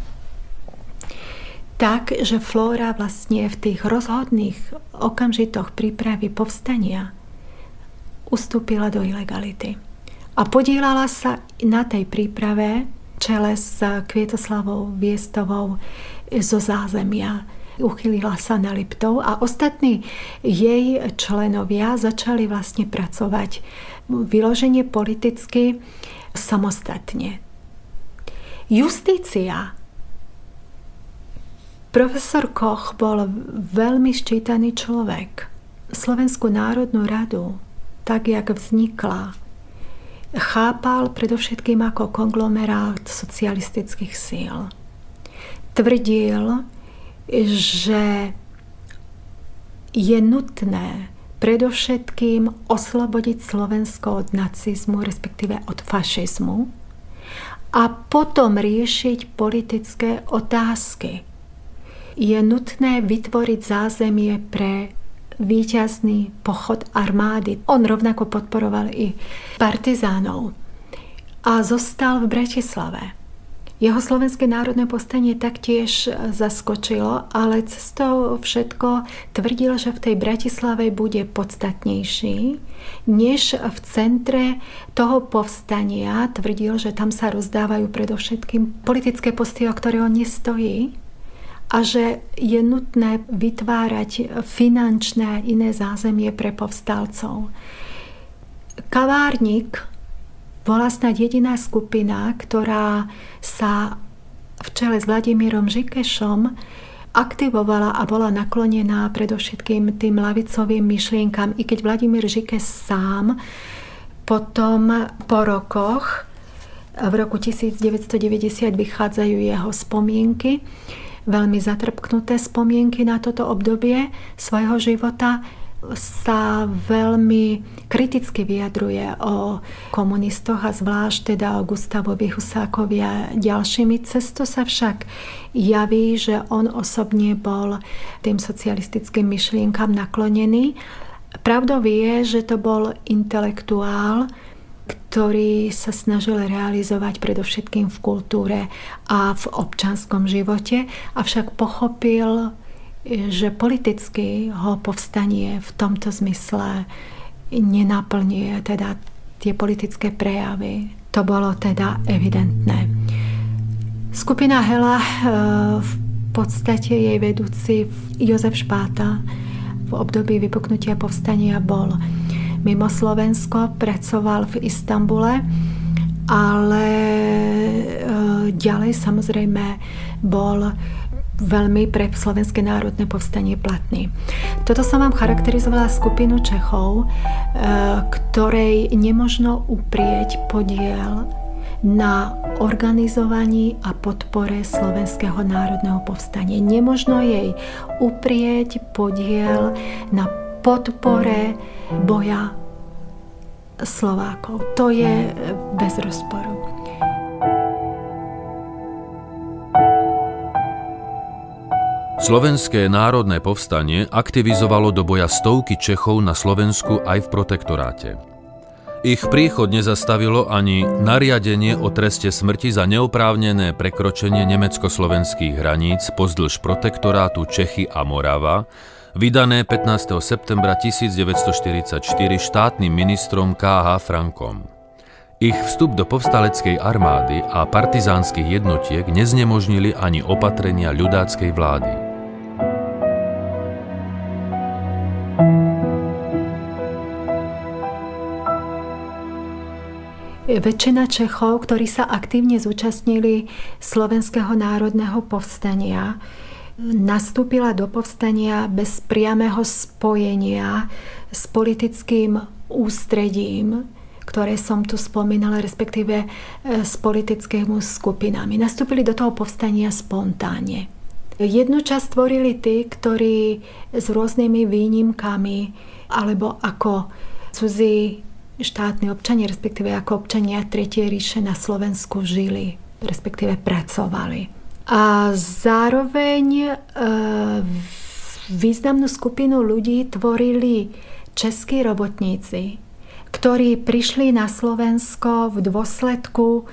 tak, že Flóra vlastne v tých rozhodných okamžitoch prípravy povstania ustúpila do ilegality. A podielala sa na tej príprave čele s Kvietoslavou Viestovou zo zázemia uchylila sa na Liptov a ostatní jej členovia začali vlastne pracovať vyloženie politicky samostatne. Justícia. Profesor Koch bol veľmi ščítaný človek. Slovenskú národnú radu, tak jak vznikla, chápal predovšetkým ako konglomerát socialistických síl. Tvrdil, že je nutné predovšetkým oslobodiť Slovensko od nacizmu, respektíve od fašizmu a potom riešiť politické otázky. Je nutné vytvoriť zázemie pre víťazný pochod armády. On rovnako podporoval i partizánov a zostal v Bratislave. Jeho Slovenské národné povstanie taktiež zaskočilo, ale cez to všetko tvrdil, že v tej Bratislave bude podstatnejší, než v centre toho povstania. Tvrdil, že tam sa rozdávajú predovšetkým politické posty, o ktoré on nestojí, a že je nutné vytvárať finančné a iné zázemie pre povstalcov. Kavárnik bola snad jediná skupina, ktorá sa v čele s Vladimírom Žikešom aktivovala a bola naklonená predovšetkým tým ľavicovým myšlienkam, i keď Vladimír Žikeš sám potom po rokoch, v roku devätnásťstodeväťdesiat vychádzajú jeho spomienky, veľmi zatrpknuté spomienky na toto obdobie svojho života, sa veľmi kriticky vyjadruje o komunistoch a zvlášť teda o Gustavovi Husákovi a ďalšími. Cesto sa však javí, že on osobne bol tým socialistickým myšlienkam naklonený. Pravdou je, že to bol intelektuál, ktorý sa snažil realizovať predovšetkým v kultúre a v občanskom živote, avšak pochopil, že politicky ho povstanie v tomto zmysle nenaplňuje teda tie politické prejavy. To bolo teda evidentné. Skupina Hela, v podstate jej vedúci Jozef Špáta, v období vypuknutia povstania bol mimo Slovensko, pracoval v Istanbule, ale ďalej samozrejme bol veľmi pre Slovenské národné povstanie platný. Toto som vám charakterizovala skupinu Čechov, ktorej nemožno uprieť podiel na organizovaní a podpore Slovenského národného povstania. Nemožno jej uprieť podiel na podpore boja Slovákov. To je bez rozporu. Slovenské národné povstanie aktivizovalo do boja stovky Čechov na Slovensku aj v protektoráte. Ich príchod nezastavilo ani nariadenie o treste smrti za neoprávnené prekročenie nemecko-slovenských hraníc pozdĺž protektorátu Čechy a Morava, vydané pätnásteho septembra tisícdeväťstoštyridsaťštyri štátnym ministrom ká há Frankom. Ich vstup do povstaleckej armády a partizánskych jednotiek neznemožnili ani opatrenia ľudáckej vlády. Väčšina Čechov, ktorí sa aktívne zúčastnili Slovenského národného povstania, nastúpila do povstania bez priamého spojenia s politickým ústredím, ktoré som tu spomínala, respektíve s politickými skupinami. Nastúpili do toho povstania spontánne. Jednu časť tvorili tí, ktorí s rôznymi výnimkami alebo ako cudzí štátni občania, respektíve ako občania Tretej ríše na Slovensku žili, respektíve pracovali. A zároveň e, významnú skupinu ľudí tvorili českí robotníci, ktorí prišli na Slovensko v dôsledku e,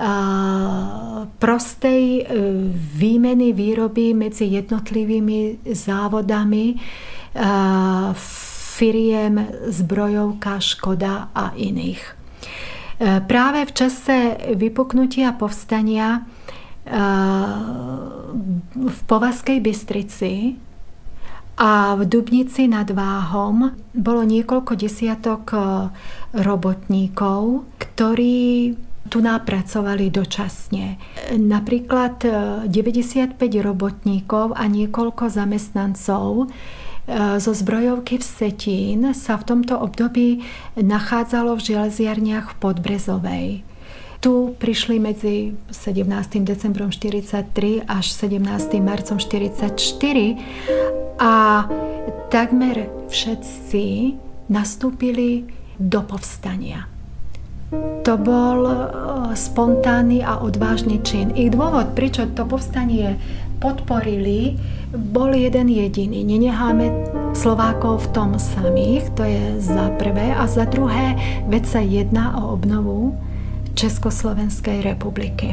prostej e, výmeny výroby medzi jednotlivými závodami e, firiem Zbrojovka, Škoda a iných. Práve v čase vypuknutia povstania v Považskej Bystrici a v Dubnici nad Váhom bolo niekoľko desiatok robotníkov, ktorí tu napracovali dočasne. Napríklad deväťdesiatpäť robotníkov a niekoľko zamestnancov zo zbrojovky Vsetín sa v tomto období nachádzalo v železiarniach v Podbrezovej. Tu prišli medzi sedemnástym decembrom štyridsaťtri až sedemnástym marcom štyridsaťštyri a takmer všetci nastúpili do povstania. To bol spontánny a odvážny čin. Ich dôvod, prečo to povstanie podporili, bol jeden jediný. Nenecháme Slovákov v tom samých, to je za prvé. A za druhé, veď sa jedná o obnovu Československej republiky.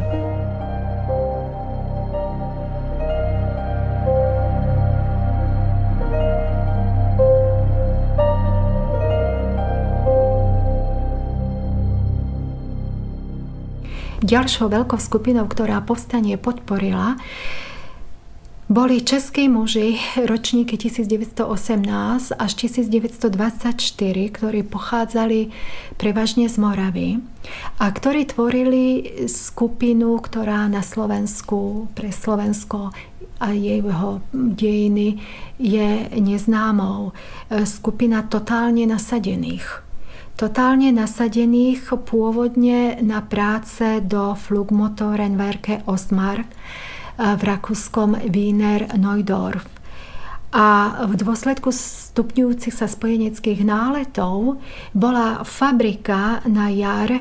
Ďalšou veľkou skupinou, ktorá povstanie podporila, boli českí muži ročníky devätnásťstoosemnásť až devätnásťdvadsaťštyri, ktorí pochádzali prevažne z Moravy a ktorí tvorili skupinu, ktorá na Slovensku, pre Slovensko a jeho dejiny je neznámou. Skupina totálne nasadených. Totálne nasadených pôvodne na práce do Flugmotorenwerke Ostmark v rakúskom Wiener Neudorf. A v dôsledku stupňujúcich sa spojeneckých náletov bola fabrika na jar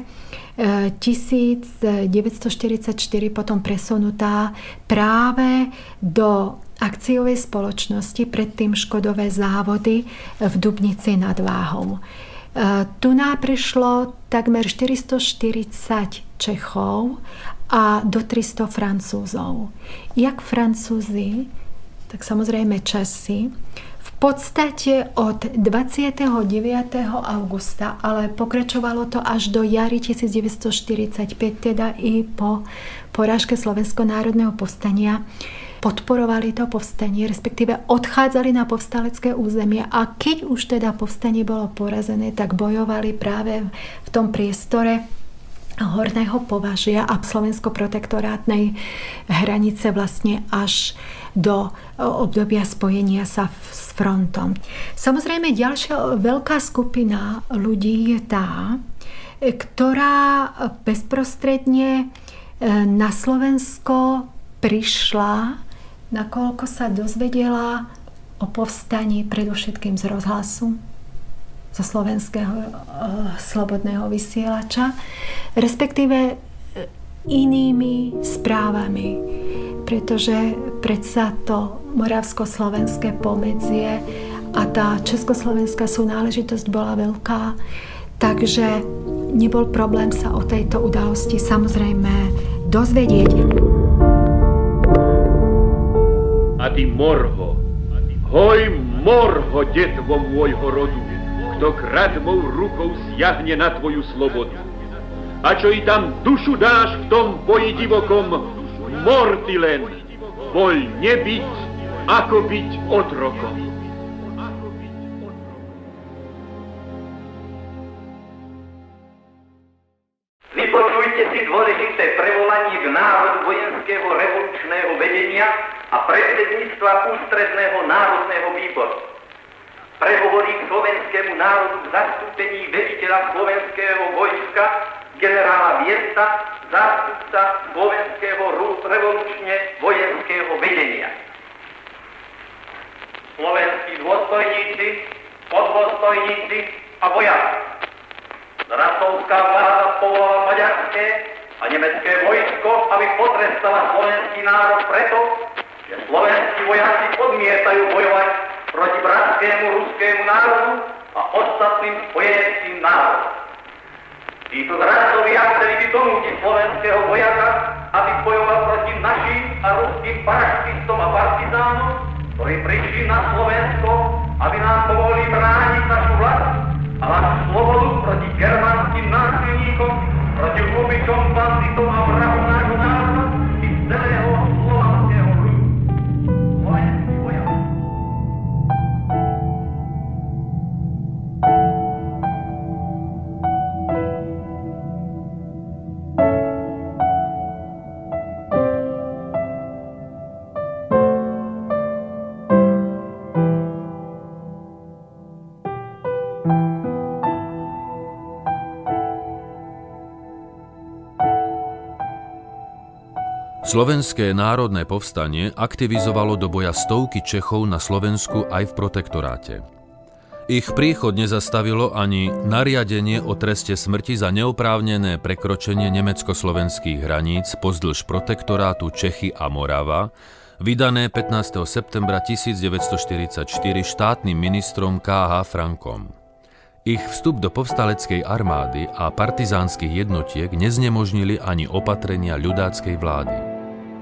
devätnásťstoštyridsaťštyri potom presunutá práve do akciovej spoločnosti, predtým Škodové závody v Dubnici nad Váhom. Tu nám prišlo takmer štyristoštyridsať Čechov a do tristo Francúzov. Jak Francúzi, tak samozrejme Česi, v podstate od dvadsiateho deviateho augusta, ale pokračovalo to až do jary devätnásťstoštyridsaťpäť, teda i po porážke Slovenského národného povstania, podporovali to povstanie, respektíve odchádzali na povstalecké územie a keď už teda povstanie bolo porazené, tak bojovali práve v tom priestore Horného Považia a slovensko-protektorátnej hranice vlastne až do obdobia spojenia sa s frontom. Samozrejme, ďalšia veľká skupina ľudí je tá, ktorá bezprostredne na Slovensko prišla, nakoľko sa dozvedela o povstaní predovšetkým z rozhlasu, zo slovenského e, slobodného vysielača, respektíve inými správami, pretože predsa to moravsko-slovenské pomedzie a tá československá súnáležitosť bola veľká, takže nebol problém sa o tejto udalosti samozrejme dozvedieť. A ty morho, hoj morho, detvo môjho rodu, kto kradmou rukou siahne na tvoju slobodu. A čo i tam dušu dáš v tom boji divokom, mor ty len, voľ nebyť, ako byť otrokom. Vypočujte si dôležité prevolanie k národu vojenského revolučného vedenia a predsedníctva Ústredného národného výboru. Prehovorí k slovenskému národu v zastúpení veliteľa slovenského vojska generála Viesta, zástupca slovenského revolučne vojenského vedenia. Slovenskí dôstojníci, podôstojníci a vojaci. Rasovská vláda povolala maďarské a nemecké vojsko, aby potrestala slovenský národ preto, že slovenskí vojaci odmietajú bojovať proti bratskému ruskému národu a ostatným spojeneckým národom. Títo zradcovia chceli vytonútiť slovenského vojaka, aby bojoval proti našim a ruským paraštistom a partizánom, ktorí prišli na Slovensko, aby nám pomohli brániť našu vlast a našu slobodu proti germánskym násilníkom, proti hlubičom, banditom a vrahom nášho národa i celej Slovenské národné povstanie aktivizovalo do boja stovky Čechov na Slovensku aj v protektoráte. Ich príchod nezastavilo ani nariadenie o treste smrti za neoprávnené prekročenie nemecko-slovenských hraníc pozdĺž protektorátu Čechy a Morava, vydané pätnásteho septembra tisícdeväťstoštyridsaťštyri štátnym ministrom ká há Frankom. Ich vstup do povstaleckej armády a partizánskych jednotiek neznemožnili ani opatrenia ľudáckej vlády.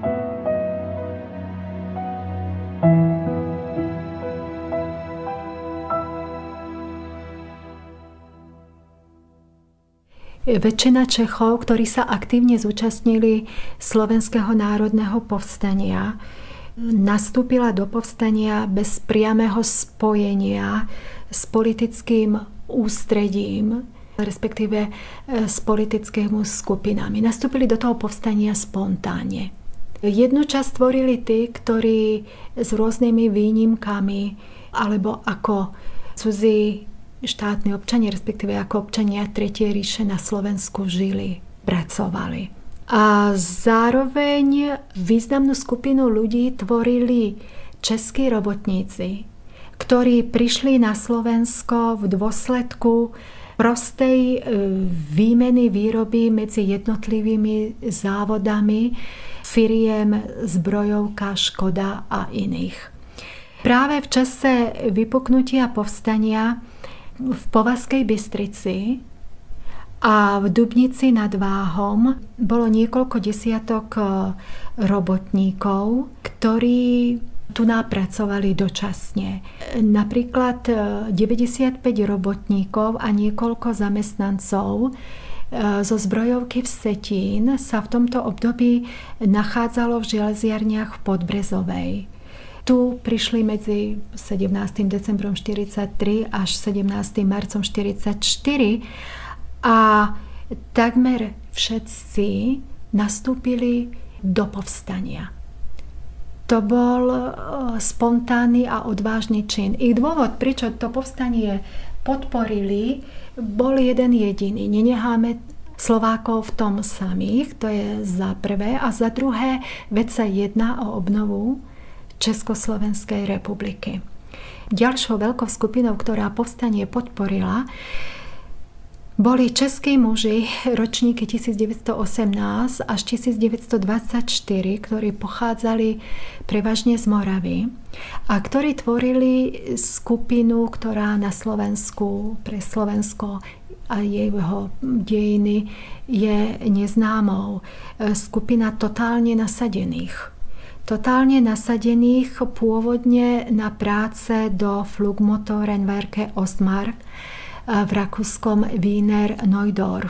Väčšina Čechov, ktorí sa aktívne zúčastnili Slovenského národného povstania, nastúpila do povstania bez priamého spojenia s politickým ústredím, respektíve s politickými skupinami. Nastúpili do toho povstania spontánne. Jednu časť tvorili tí, ktorí s rôznymi výnimkami alebo ako cudzí štátni občania, respektíve ako občania Tretej ríše na Slovensku žili, pracovali. A zároveň významnú skupinu ľudí tvorili českí robotníci, ktorí prišli na Slovensko v dôsledku prostej výmeny výroby medzi jednotlivými závodami firiem Zbrojovka, Škoda a iných. Práve v čase vypuknutia povstania v Považskej Bystrici a v Dubnici nad Váhom bolo niekoľko desiatok robotníkov, ktorí tu napracovali dočasne. Napríklad deväťdesiatpäť robotníkov a niekoľko zamestnancov zo Zbrojovky v Vsetín sa v tomto období nachádzalo v železiarniach v Podbrezovej. Tu prišli medzi sedemnástym decembrom štyridsaťtri až sedemnástym marcom štyridsaťštyri a takmer všetci nastúpili do povstania. To bol spontánny a odvážny čin. Ich dôvod, prečo to povstanie podporili, bol jeden jediný. Nenecháme Slovákov v tom samých, to je za prvé. A za druhé, veď sa jedná o obnovu Československej republiky. Ďalšou veľkou skupinou, ktorá povstanie podporila, boli českí muži ročníky tisícdeväťstoosemnásť až tisícdeväťstodvadsaťštyri, ktorí pochádzali prevažne z Moravy a ktorí tvorili skupinu, ktorá na Slovensku pre Slovensko a jeho dejiny je neznámou. Skupina totálne nasadených. Totálne nasadených pôvodne na práce do Flugmotorenwerke Ostmark v rakúskom Wiener Neudorf.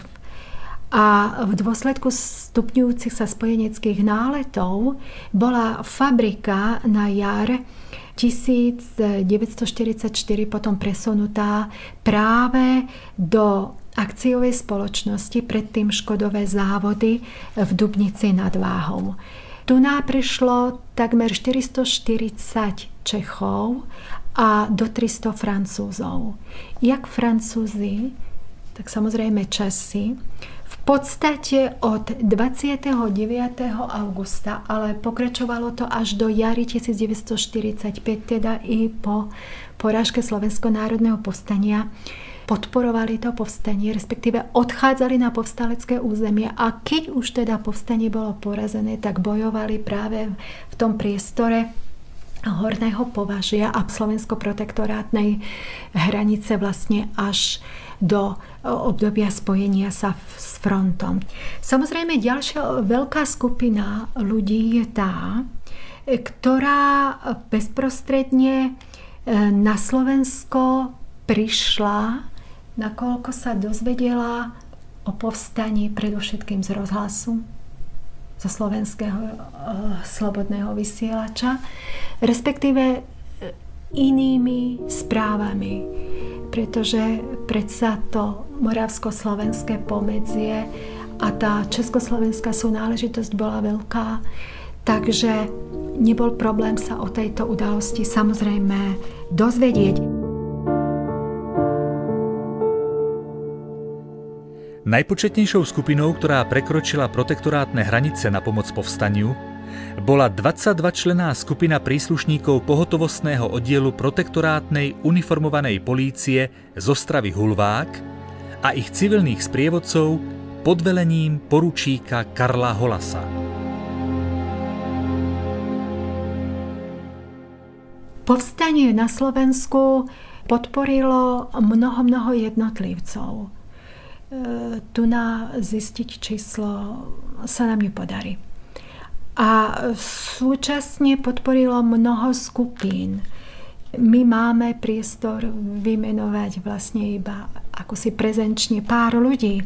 A v dôsledku stupňujúcich sa spojeneckých náletov bola fabrika na jar tisícdeväťstoštyridsaťštyri potom presunutá práve do akciovej spoločnosti, predtým Škodové závody v Dubnici nad Váhom. Tu nám prišlo takmer štyristoštyridsať Čechov a do tristo Francúzov. Jak Francúzi, tak samozrejme Česi, v podstate od dvadsiateho deviateho augusta, ale pokračovalo to až do jary tisícdeväťstoštyridsaťpäť, teda i po porážke Slovenského národného povstania, podporovali to povstanie, respektíve odchádzali na povstalecké územie a keď už teda povstanie bolo porazené, tak bojovali práve v tom priestore Horného Považia a slovensko-protektorátnej hranice vlastne až do obdobia spojenia sa s frontom. Samozrejme, ďalšia veľká skupina ľudí je tá, ktorá bezprostredne na Slovensko prišla, nakoľko sa dozvedela o povstaní predovšetkým z rozhlasu, zo slovenského e, slobodného vysielača, respektíve inými správami, pretože predsa to moravsko-slovenské pomedzie a tá československá súnáležitosť bola veľká, takže nebol problém sa o tejto udalosti samozrejme dozvedieť. Najpočetnejšou skupinou, ktorá prekročila protektorátne hranice na pomoc povstaniu, bola dvadsaťdvačlenná skupina príslušníkov pohotovostného oddielu protektorátnej uniformovanej polície z Ostravy Hulvák a ich civilných sprievodcov pod velením poručíka Karla Holasa. Povstanie na Slovensku podporilo mnoho, mnoho jednotlivcov. Tu na zistiť číslo sa nám nepodarí. A súčasne podporilo mnoho skupín. My máme priestor vymenovať vlastne iba ako si prezenčne pár ľudí.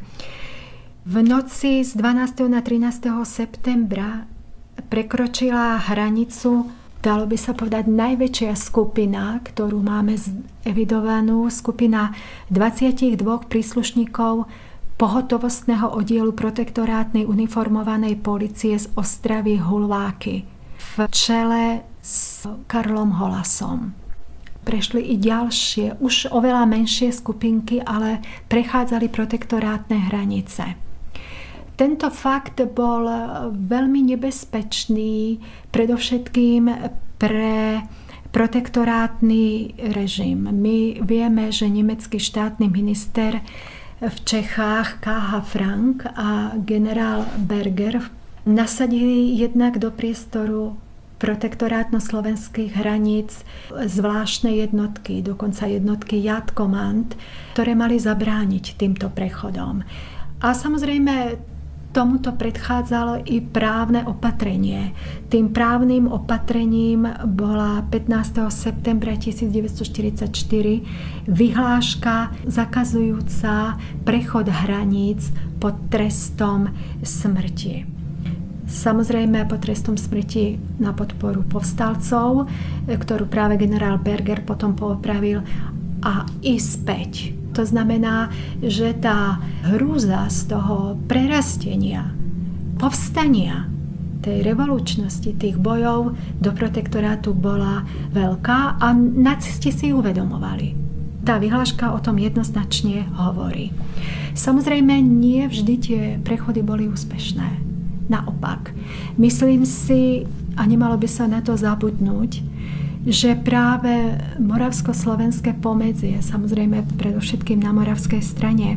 V noci z dvanásteho na trinásteho septembra prekročila hranicu, dalo by sa povedať, najväčšia skupina, ktorú máme evidovanú, skupina dvadsaťdva príslušníkov pohotovostného oddielu protektorátnej uniformovanej polície z Ostravy Hulváky v čele s Karlom Holasom. Prešli i ďalšie, už oveľa menšie skupinky, ale prechádzali protektorátne hranice. Tento fakt bol veľmi nebezpečný, predovšetkým pre protektorátny režim. My vieme, že nemecký štátny minister v Čechách ká há Frank a generál Berger nasadili jednak do priestoru protektorátno-slovenských hraníc zvláštne jednotky, dokonca jednotky Jadkommand, ktoré mali zabrániť týmto prechodom. A samozrejme tomuto predchádzalo i právne opatrenie. Tým právnym opatrením bola pätnásteho septembra tisícdeväťstoštyridsaťštyri vyhláška zakazujúca prechod hraníc pod trestom smrti. Samozrejme pod trestom smrti na podporu povstalcov, ktorú práve generál Berger potom poopravil, a i späť. To znamená, že tá hrúza z toho prerastenia, povstania, tej revolučnosti, tých bojov do protektorátu bola veľká a nacisti si uvedomovali. Tá vyhláška o tom jednoznačne hovorí. Samozrejme, nie vždy tie prechody boli úspešné. Naopak, myslím si, a nemalo by sa na to zabudnúť, že práve moravsko-slovenské pomedzie, samozrejme predovšetkým na moravskej strane,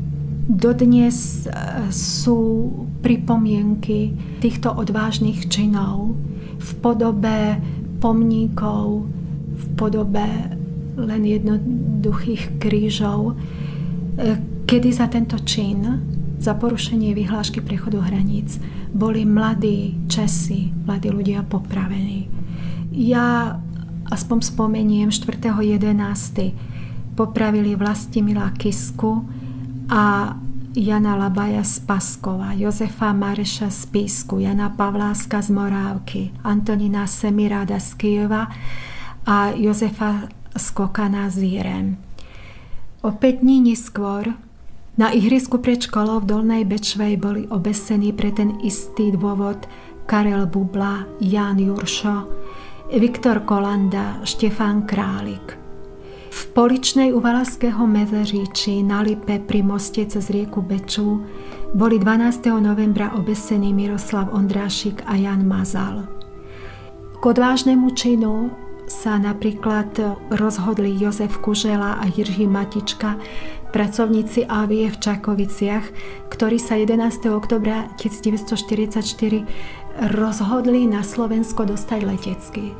dodnes sú pripomienky týchto odvážnych činov v podobe pomníkov, v podobe len jednoduchých krížov, kedy za tento čin, za porušenie vyhlášky prechodu hraníc, boli mladí Česi, mladí ľudia popravení. Ja aspoň spomeniem štvrtého jedenásteho popravili Vlastimila Kisku a Jana Labaja z Paskova, Jozefa Mareša z Písku, Jana Pavláska z Morávky, Antonína Semiráda z Kyjeva a Jozefa Skokana z Jirem. O päť dní neskôr na ihrisku pred školou v Dolnej Bečvej boli obesení pre ten istý dôvod Karel Bubla, Ján Juršo, Viktor Kolanda, Štefán Králik. V Poličnej u Valašského Mezeříčí na Lipe pri moste cez rieku Beču boli dvanásteho novembra obesení Miroslav Ondrášik a Jan Mazal. K odvážnemu činu sa napríklad rozhodli Jozef Kužela a Jiří Matička, pracovníci Avie v Čakoviciach, ktorí sa jedenásteho októbra tisícdeväťstoštyridsaťštyri rozhodli na Slovensko dostať letecky.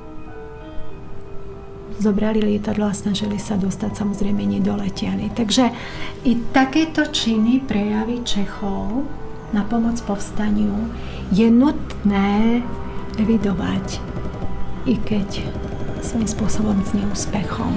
Zobrali lietadlo a snažili sa dostať, samozrejme nedoletiali. Takže i takéto činy, prejavy Čechov na pomoc povstaniu je nutné evidovať, i keď svojím spôsobom s neúspechom.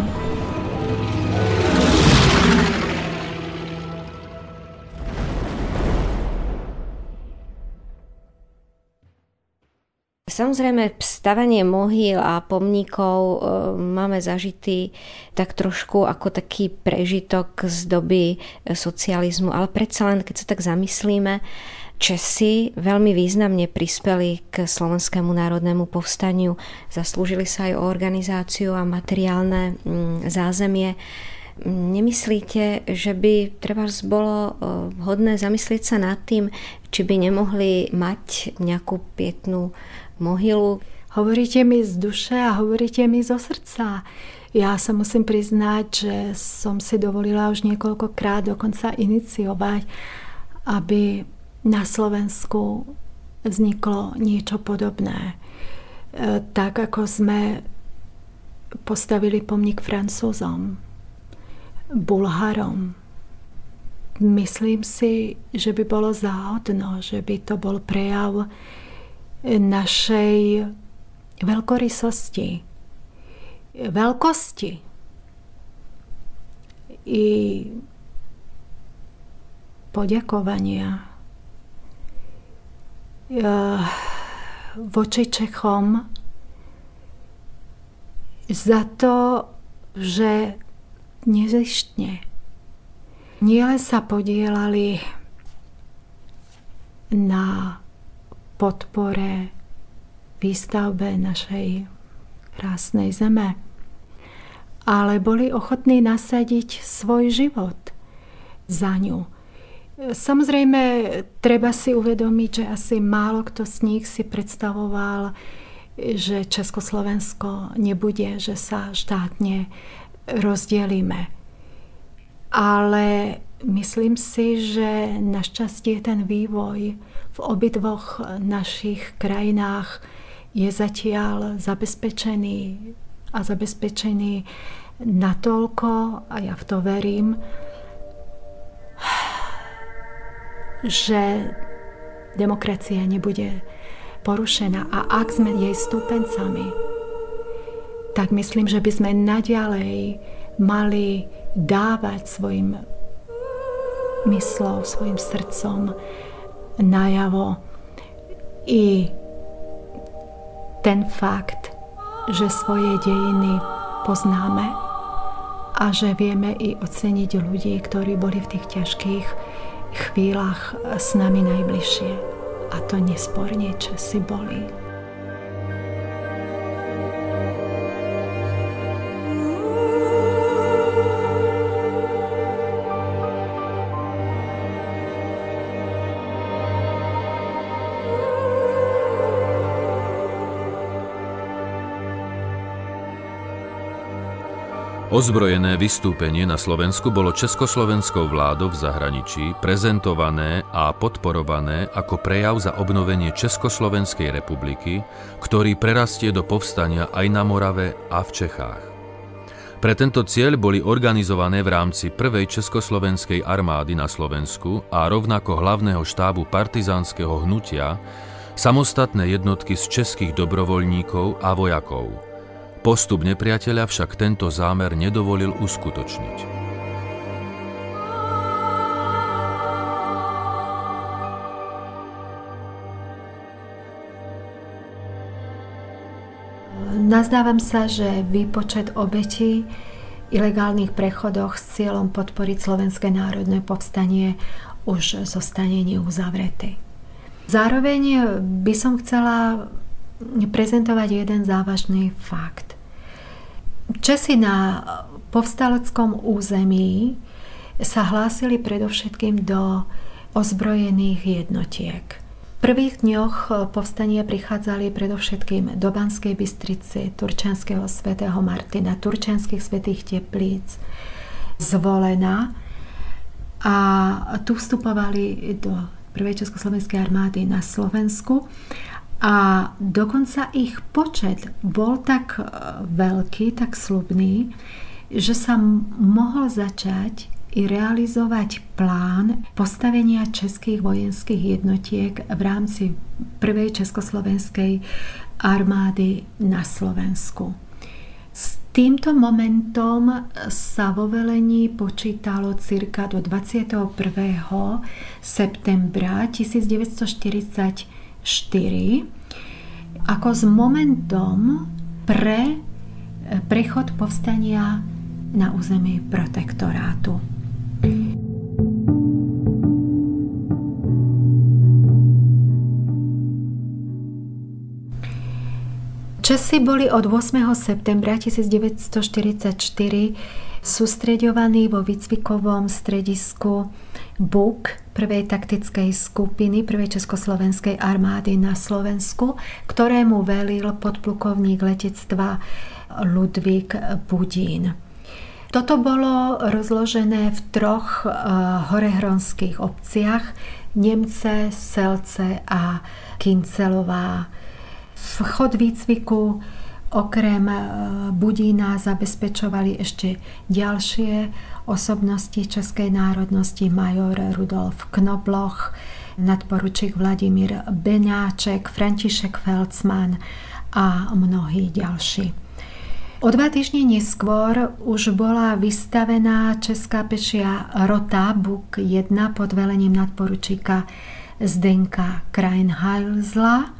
Samozrejme, stavanie mohyl a pomníkov e, máme zažitý tak trošku ako taký prežitok z doby socializmu, ale predsa len, keď sa tak zamyslíme, Česi veľmi významne prispeli k Slovenskému národnému povstaniu, zaslúžili sa aj o organizáciu a materiálne mm, zázemie. Nemyslíte, že by treba bolo vhodné zamyslieť sa nad tým, či by nemohli mať nejakú pietnú mohylu? Hovoríte mi z duše a hovoríte mi zo srdca. Ja sa musím priznať, že som si dovolila už niekoľkokrát dokonca iniciovať, aby na Slovensku vzniklo niečo podobné. Tak ako sme postavili pomník Francúzom, Bulharom. Myslím si, že by bolo záhodno, že by to bol prejav našej veľkorysosti, veľkosti i poďakovania voči Čechom za to, že nezištne nielen sa podielali na podpore výstavbe našej krásnej zeme, ale boli ochotní nasadiť svoj život za ňu. Samozrejme, treba si uvedomiť, že asi málo kto z nich si predstavoval, že Československo nebude, že sa štátne rozdelíme. Ale myslím si, že našťastie ten vývoj v obidvoch našich krajinách je zatiaľ zabezpečený a zabezpečený natoľko, a ja v to verím, že demokracia nebude porušená. A ak sme jej stúpencami, tak myslím, že by sme naďalej mali dávať svojim myslou, svojim srdcom najavo i ten fakt, že svoje dejiny poznáme a že vieme i oceniť ľudí, ktorí boli v tých ťažkých chvíľach s nami najbližšie. A to nesporne Česi boli. Ozbrojené vystúpenie na Slovensku bolo československou vládou v zahraničí prezentované a podporované ako prejav za obnovenie Československej republiky, ktorý prerastie do povstania aj na Morave a v Čechách. Pre tento cieľ boli organizované v rámci prvej československej armády na Slovensku a rovnako hlavného štábu partizánskeho hnutia samostatné jednotky z českých dobrovoľníkov a vojakov. Postup nepriateľa však tento zámer nedovolil uskutočniť. Nazdávam sa, že výpočet obetí ilegálnych prechodoch s cieľom podporiť Slovenské národné povstanie už zostane neuzavretý. Zároveň by som chcela prezentovať jeden závažný fakt. Česi na povstaleckom území sa hlásili predovšetkým do ozbrojených jednotiek. V prvých dňoch povstania prichádzali predovšetkým do Banskej Bystrici, Turčianskeho svätého Martina, Turčianskych svätých Teplíc, Zvolena, a tu vstupovali do prvej československej armády na Slovensku. A dokonca ich počet bol tak veľký, tak sľubný, že sa mohol začať i realizovať plán postavenia českých vojenských jednotiek v rámci prvej československej armády na Slovensku. S týmto momentom sa vo velení počítalo cirka do dvadsiateho prvého septembra tisícdeväťstoštyridsaťštyri ako s momentom pre prechod povstania na území protektorátu. Česi boli od ôsmeho septembra tisícdeväťstoštyridsaťštyri sústreďovaný vo výcvikovom stredisku Buk prvej taktickej skupiny prvej československej armády na Slovensku, ktorému velil podplukovník letectva Ludvík Budín. Toto bolo rozložené v troch horehronských obciach Nemce, Selce a Kyncelová. Vchod výcviku okrem Budína zabezpečovali ešte ďalšie osobnosti českej národnosti, major Rudolf Knobloch, nadporučík Vladimír Beňáček, František Felcman a mnohí ďalší. O dva týždne neskôr už bola vystavená česká pešia rota Buk jedna pod velením nadporučíka Zdenka Krajnhalzla.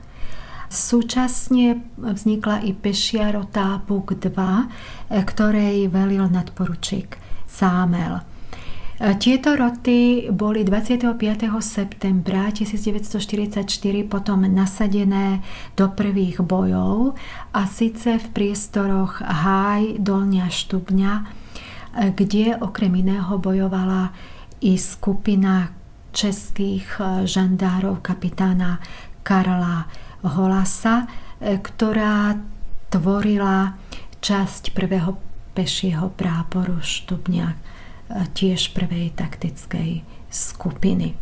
Súčasne vznikla i pešia rota Buk dva, ktorej velil nadporučík Zámel. Tieto roty boli dvadsiateho piateho septembra tisícdeväťstoštyridsaťštyri potom nasadené do prvých bojov, a síce v priestoroch Háj, Dolňa Štubňa, kde okrem iného bojovala i skupina českých žandárov kapitána Karla Holasa, ktorá tvorila časť prvého pešieho práporu Štubňa, tiež prvej taktickej skupiny.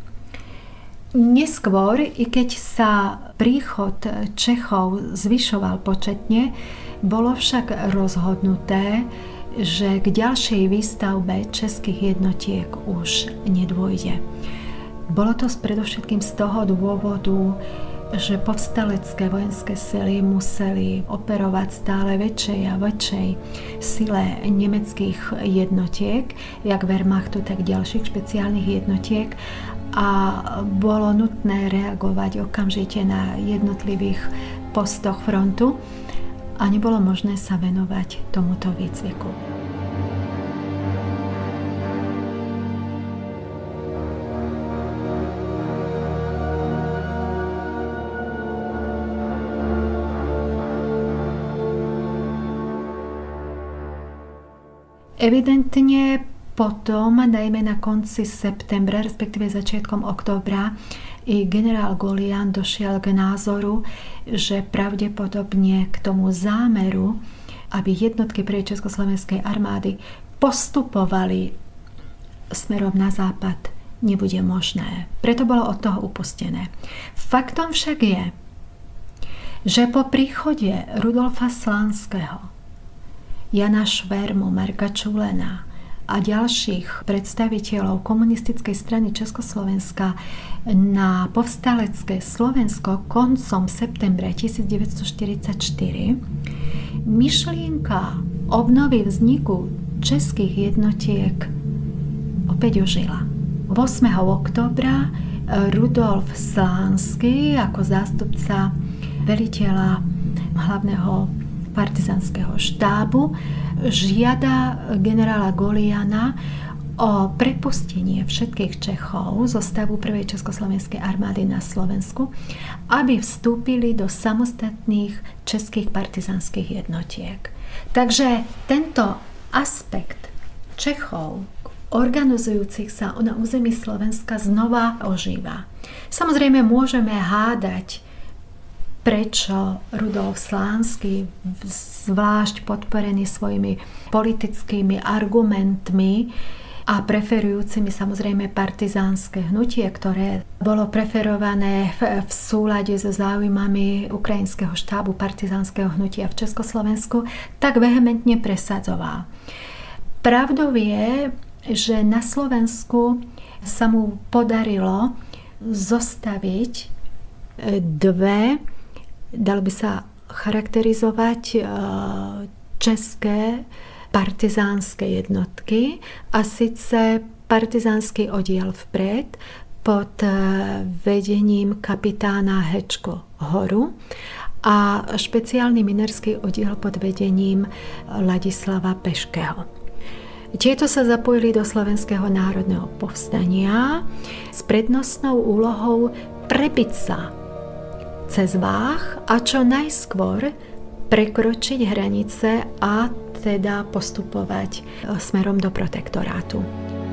Neskôr, i keď sa príchod Čechov zvyšoval početne, bolo však rozhodnuté, že k ďalšej výstavbe českých jednotiek už nedôjde. Bolo to predovšetkým z toho dôvodu, že povstalecké vojenské sily museli operovať stále väčšej a väčšej sile nemeckých jednotiek, jak Wehrmachtu, tak ďalších špeciálnych jednotiek, a bolo nutné reagovať okamžite na jednotlivých postoch frontu a nebolo možné sa venovať tomuto výcviku. Evidentne potom, najmä na konci septembra, respektíve začiatkom októbra, i generál Golian došiel k názoru, že pravdepodobne k tomu zámeru, aby jednotky prvej československej armády postupovali smerom na západ, nebude možné. Preto bolo od toho upustené. Faktom však je, že po príchode Rudolfa Slánskeho, Jana Švermu, Marka Čulena a ďalších predstaviteľov komunistickej strany Československa na povstalecké Slovensko koncom septembra tisícdeväťstoštyridsaťštyri myšlienka obnovy vzniku českých jednotiek opäť ožila. ôsmeho októbra Rudolf Slánsky ako zástupca veliteľa hlavného partizanského štábu žiada generála Goliana o prepustenie všetkých Čechov zo stavu prvej československej armády na Slovensku, aby vstúpili do samostatných českých partizanských jednotiek. Takže tento aspekt Čechov organizujúcich sa na území Slovenska znova ožíva. Samozrejme môžeme hádať, prečo Rudolf Slánsky, zvlášť podporený svojimi politickými argumentmi a preferujúcimi samozrejme partizánske hnutie, ktoré bolo preferované v, v súlade so záujmami ukrajinského štábu partizánskeho hnutia v Československu, tak vehementne presadzoval. Pravdou je, že na Slovensku sa mu podarilo zostaviť dve, dalo by sa charakterizovať, české partizánske jednotky, a síce partizánsky oddiel vpred pod vedením kapitána Hečko Horu a špeciálny minerský oddiel pod vedením Ladislava Peškeho. Tieto sa zapojili do Slovenského národného povstania s prednostnou úlohou prebiť sa cez Váh a čo najskôr prekročiť hranice a teda postupovať smerom do protektorátu.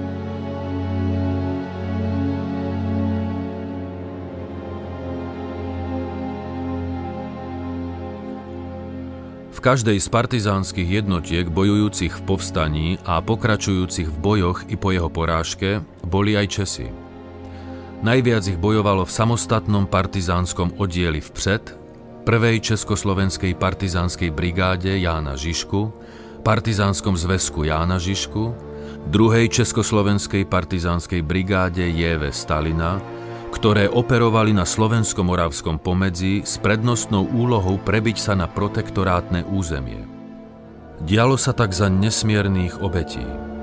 V každej z partizánskych jednotiek bojujúcich v povstaní a pokračujúcich v bojoch i po jeho porážke boli aj Česi. Najviac ich bojovalo v samostatnom partizánskom oddieli vpred, prvej československej partizánskej brigáde Jána Žižku, partizánskom zväzku Jána Žižku, druhej československej partizánskej brigáde J V Stalina, ktoré operovali na slovensko-moravskom pomedzi s prednostnou úlohou prebiť sa na protektorátne územie. Dialo sa tak za nesmiernych obetí.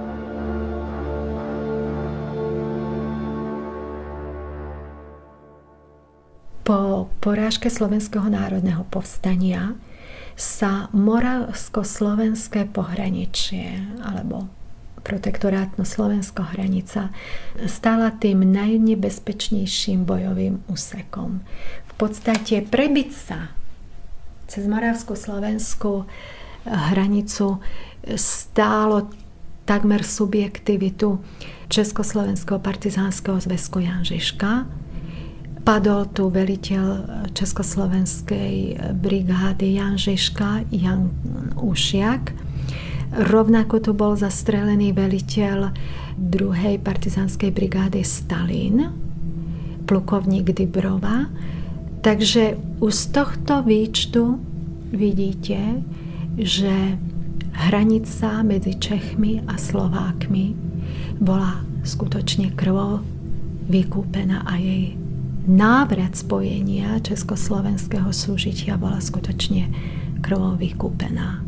Po porážke Slovenského národného povstania sa moravsko-slovenské pohraničie, alebo protektorátno slovenská hranica, stala tým najnebezpečnejším bojovým úsekom. V podstate prebiť sa cez moravsko-slovenskú hranicu stálo takmer subjektivitu Československého partizánskeho zväzku Jan Žižka. Padol tu veliteľ Československej brigády Jan Žižka, Jan Ušiak. Rovnako tu bol zastrelený veliteľ druhej partizánskej brigády Stalin, plukovník Dybrova. Takže už z tohto výčtu vidíte, že hranica medzi Čechmi a Slovákmi bola skutočne krvou vykúpená a jej návrat spojenia československého súžitia bola skutočne krvou vykúpená.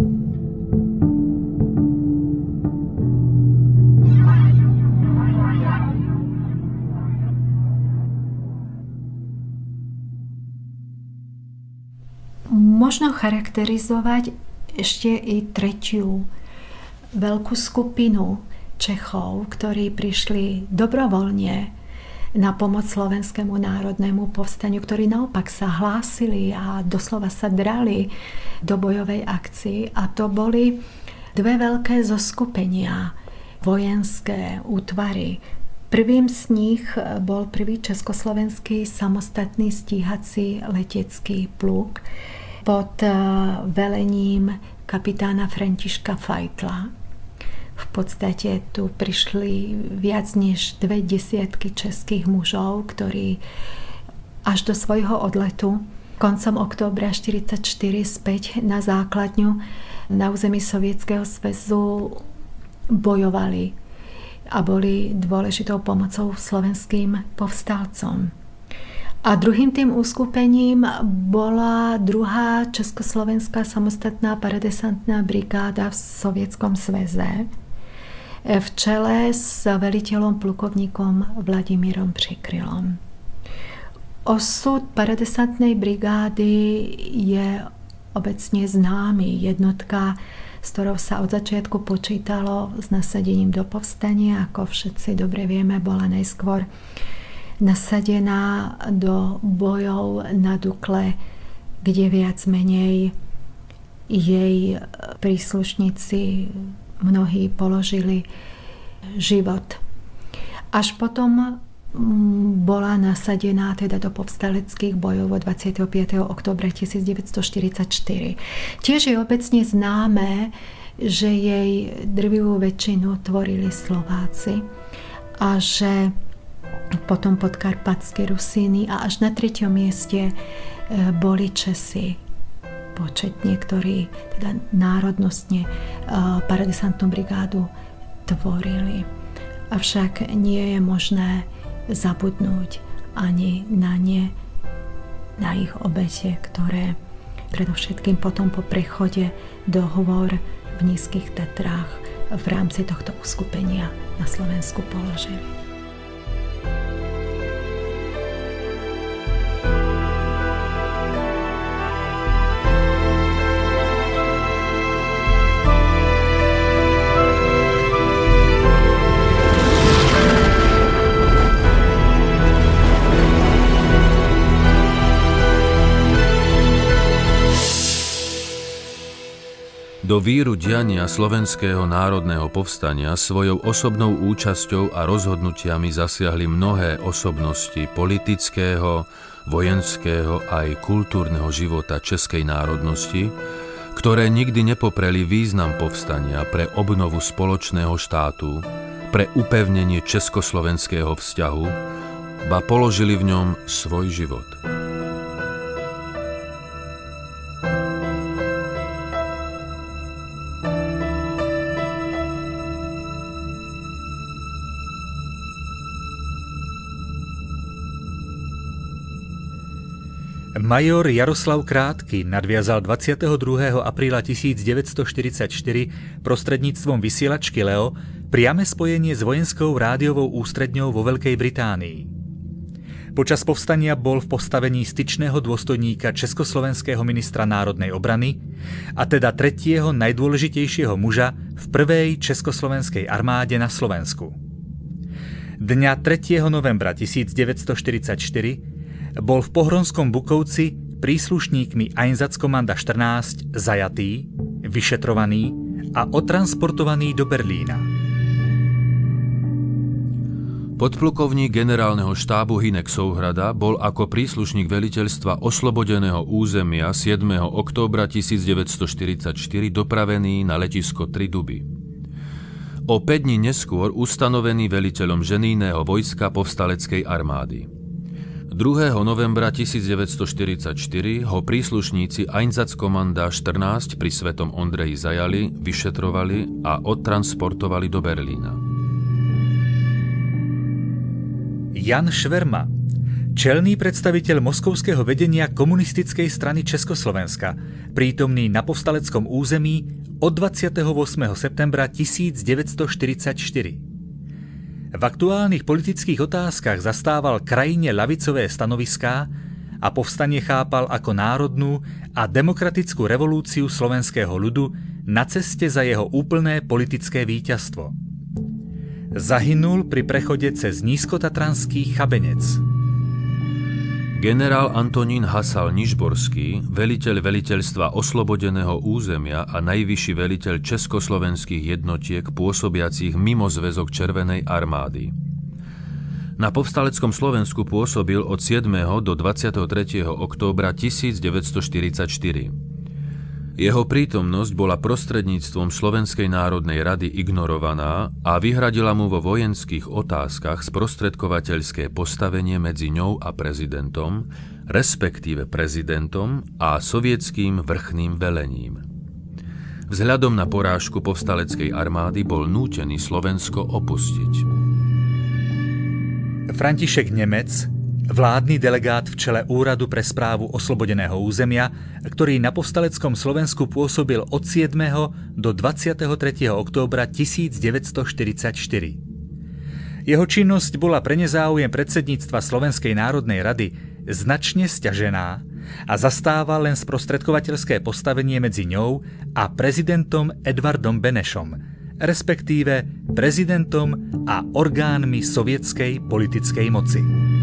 Možno charakterizovať ešte i tretiu veľkú skupinu Čechov, ktorí prišli dobrovoľne na pomoc Slovenskému národnému povstaniu, ktorí naopak sa hlásili a doslova sa drali do bojovej akcii. A to boli dve veľké zoskupenia, vojenské útvary. Prvým z nich bol prvý československý samostatný stíhací letecký pluk pod velením kapitána Františka Fajtla. V podstate tu prišli viac než dve desiatky českých mužov, ktorí až do svojho odletu koncom októbra štyridsaťštyri späť na základňu na území Sovietskeho zväzu bojovali a boli dôležitou pomocou slovenským povstalcom. A druhým tým uskupením bola druhá československá samostatná paradesantná brigáda v Sovietskom zväze v čele s veliteľom plukovníkom Vladimírom Přikrylom. Osud paradesantnej brigády je obecne známy. Jednotka, s ktorou sa od začiatku počítalo s nasadením do povstania, ako všetci dobre vieme, bola najskôr nasadená do bojov na Dukle, kde viac menej jej príslušníci mnohí položili život. Až potom bola nasadená teda do povstaleckých bojov od dvadsiateho piateho októbra tisícdeväťstoštyridsaťštyri. Tiež je obecne známe, že jej drvivú väčšinu tvorili Slováci a že potom podkarpatské Rusíny a až na treťom mieste boli Česi početne, ktorí teda národnostne paradesantnú brigádu tvorili. Avšak nie je možné zabudnúť ani na ne, na ich obete, ktoré predovšetkým potom po prechode do hôr v Nízkych Tatrách v rámci tohto uskupenia na Slovensku položili. Do víru diania Slovenského národného povstania svojou osobnou účasťou a rozhodnutiami zasiahli mnohé osobnosti politického, vojenského aj kultúrneho života českej národnosti, ktoré nikdy nepopreli význam povstania pre obnovu spoločného štátu, pre upevnenie československého vzťahu, ba položili v ňom svoj život. Major Jaroslav Krátky nadviazal dvadsiateho druhého apríla tisícdeväťstoštyridsaťštyri prostredníctvom vysielačky Leo priame spojenie s vojenskou rádiovou ústredňou vo Veľkej Británii. Počas povstania bol v postavení styčného dôstojníka československého ministra národnej obrany, a teda tretieho najdôležitejšieho muža v prvej československej armáde na Slovensku. Dňa tretieho novembra tisícdeväťstoštyridsaťštyri bol v Pohronskom Bukovci príslušníkmi Einsatzkommanda štrnásť zajatý, vyšetrovaný a odtransportovaný do Berlína. Podplukovník generálneho štábu Hynek Souhrada bol ako príslušník veliteľstva oslobodeného územia siedmeho októbra tisícdeväťstoštyridsaťštyri dopravený na letisko Tri Duby. O päť dní neskôr ustanovený veliteľom ženijného vojska povstaleckej armády. druhého novembra tisícdeväťstoštyridsaťštyri ho príslušníci Einsatzkommanda štrnásť pri Svetom Ondreji zajali, vyšetrovali a odtransportovali do Berlína. Jan Šverma, čelný predstaviteľ moskovského vedenia komunistickej strany Československa, prítomný na povstaleckom území od dvadsiateho ôsmeho septembra tisícdeväťstoštyridsaťštyri. V aktuálnych politických otázkach zastával krajine ľavicové stanoviská a povstanie chápal ako národnú a demokratickú revolúciu slovenského ľudu na ceste za jeho úplné politické víťazstvo. Zahynul pri prechode cez nízkotatranský Chabenec. Generál Antonín Hasal Nižborský, veliteľ veliteľstva oslobodeného územia a najvyšší veliteľ československých jednotiek pôsobiacich mimo zväzok Červenej armády. Na povstaleckom Slovensku pôsobil od siedmeho do dvadsiateho tretieho októbra tisícdeväťstoštyridsaťštyri. Jeho prítomnosť bola prostredníctvom Slovenskej národnej rady ignorovaná a vyhradila mu vo vojenských otázkach sprostredkovateľské postavenie medzi ňou a prezidentom, respektíve prezidentom a sovietským vrchným velením. Vzhľadom na porážku povstaleckej armády bol nútený Slovensko opustiť. František Nemec, vládny delegát v čele Úradu pre správu oslobodeného územia, ktorý na povstaleckom Slovensku pôsobil od siedmeho do dvadsiateho tretieho októbra tisícdeväťstoštyridsaťštyri. Jeho činnosť bola pre nezáujem predsedníctva Slovenskej národnej rady značne sťažená a zastával len sprostredkovateľské postavenie medzi ňou a prezidentom Edvardom Benešom, respektíve prezidentom a orgánmi sovietskej politickej moci.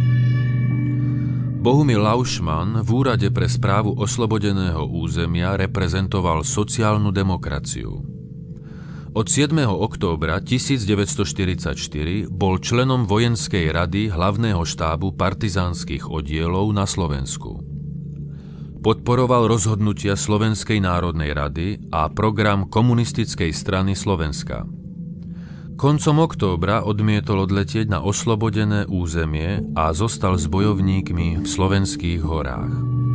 Bohumil Laušman v Úrade pre správu oslobodeného územia reprezentoval sociálnu demokraciu. Od siedmeho októbra tisícdeväťstoštyridsaťštyri bol členom vojenskej rady hlavného štábu partizánskych oddielov na Slovensku. Podporoval rozhodnutia Slovenskej národnej rady a program Komunistickej strany Slovenska. Koncom októbra odmietol odletieť na oslobodené územie a zostal s bojovníkmi v slovenských horách.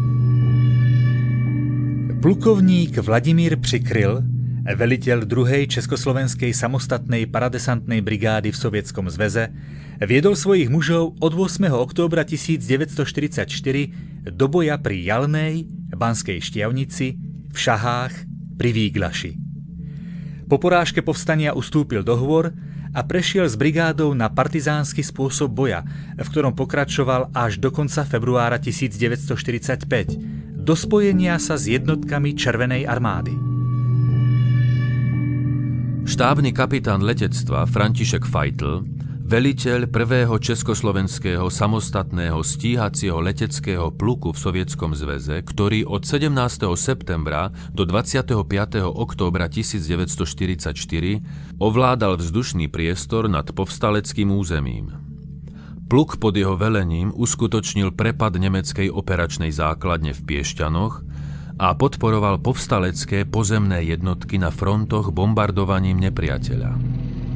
Plukovník Vladimír Přikryl, veliteľ druhej československej samostatnej paradesantnej brigády v Sovietskom zveze, viedol svojich mužov od ôsmeho októbra tisícdeväťstoštyridsaťštyri do boja pri Jalnej, Banskej Štiavnici, v Šahách, pri Výglaši. Po porážke povstania ustúpil do hôr a prešiel s brigádou na partizánsky spôsob boja, v ktorom pokračoval až do konca februára tisícdeväťstoštyridsaťpäť, do spojenia sa s jednotkami Červenej armády. Štábny kapitán letectva František Fajtl, veliteľ prvého československého samostatného stíhacieho leteckého pluku v Sovietskom zväze, ktorý od sedemnásteho septembra do dvadsiateho piateho októbra tisícdeväťstoštyridsaťštyri ovládal vzdušný priestor nad povstaleckým územím. Pluk pod jeho velením uskutočnil prepad nemeckej operačnej základne v Piešťanoch a podporoval povstalecké pozemné jednotky na frontoch bombardovaním nepriateľa.